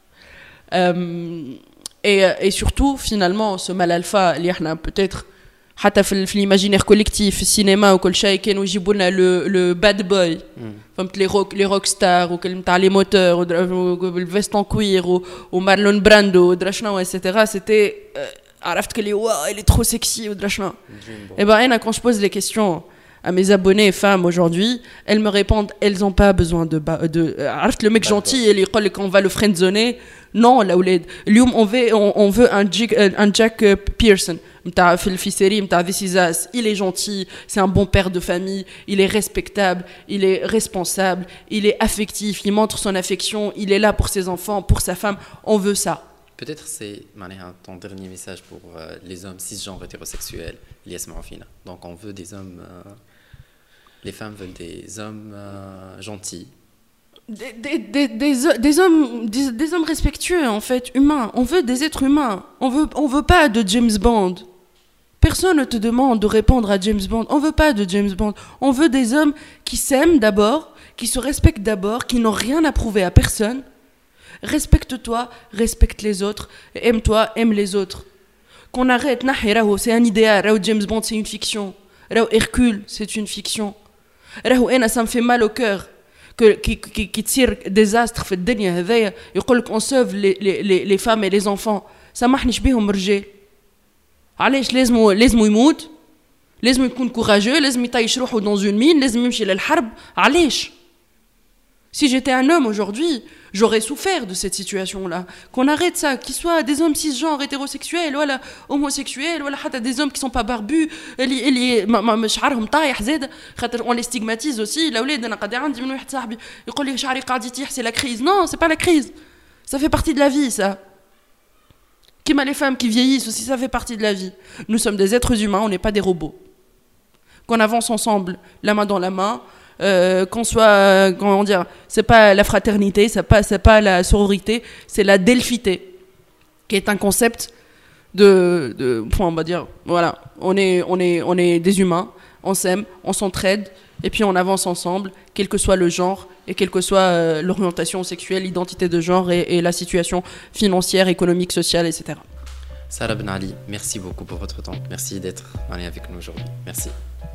Euh, et, et surtout, finalement, ce mal alpha, peut-être حتى في في l'imaginaire collectif في السينما وكل شيء كانوا يجيبوا لنا لو لو باد بوي فهمت لي روك لي روك ستار وكل نتاع لي موتور والفيستون كوير ومارلون براندو ودرا شنو ايتترا سيتي عرفت كلي واو il est trop sexy ودرا شنو. Et ben انا quand je pose les questions à mes abonnés femmes aujourd'hui, elles me répondent elles ont pas besoin de de عرفت le mec gentil اللي يقول لك on va le friendzoner. Non, الاولاد اليوم on veut on, on veut un Jack, un Jack Pearson في الفيسيري نتاع This Is Us. Il est gentil, c'est un bon père de famille, il est respectable, il est responsable, il est affectif, il montre son affection, il est là pour ses enfants, pour sa femme. On veut ça. Peut-être c'est ton dernier message pour euh, les hommes cisgenres hétérosexuels اللي يسمعوا فينا. Donc on veut des hommes euh, les femmes veulent des hommes euh, gentils. Des, des, des, des, des hommes des, des hommes respectueux en fait, humains. On veut des êtres humains. On veut on veut pas de James Bond. Personne ne te demande de répondre à James Bond. On veut pas de James Bond. On veut des hommes qui s'aiment d'abord, qui se respectent d'abord, qui n'ont rien à prouver à personne. Respecte-toi, respecte les autres, aime-toi, aime les autres. Qu'on arrête, c'est un idéal. James Bond, c'est une fiction. Hercule, c'est une fiction. Ça me fait mal au cœur. Qui, qui, qui tire désastre في الدنيا هذايا يقول لك on sauve les, les, les, les femmes et les enfants. سامحنيش بيهم الرجال. علاش لازم لازم يموت؟ لازم يكون كوراجو، لازم يطيش روحه dans une mine، لازم يمشي للحرب. علاش؟ Si j'étais un homme aujourd'hui, j'aurais souffert de cette situation-là. Qu'on arrête ça, qu'ils soient des hommes cisgenres, hétérosexuels, voilà, homosexuels, voilà, حتى des hommes qui sont pas barbus, اللي اللي ما شعرهم طايح زاد، خاطر on les stigmatise aussi. الأولاد أنا قاعد عندي من واحد صاحبي يقول لي شعري قاعد يطيح c'est la crise. Non, c'est pas la crise. Ça fait partie de la vie, ça. Comme les femmes qui vieillissent aussi, ça fait partie de la vie. Nous sommes des êtres humains, on n'est pas des robots. Qu'on avance ensemble, la main dans la main. Euh, qu'on soit, euh, comment dire, c'est pas la fraternité, c'est pas, c'est pas la sororité, c'est la delphité, qui est un concept de, de, on va dire, voilà, on est, on est, on est des humains, on s'aime, on s'entraide, et puis on avance ensemble, quel que soit le genre et quelle que soit euh, l'orientation sexuelle, l'identité de genre et, et la situation financière, économique, sociale, et cetera. Sarah Ben Ali, merci beaucoup pour votre temps, merci d'être avec nous aujourd'hui, merci.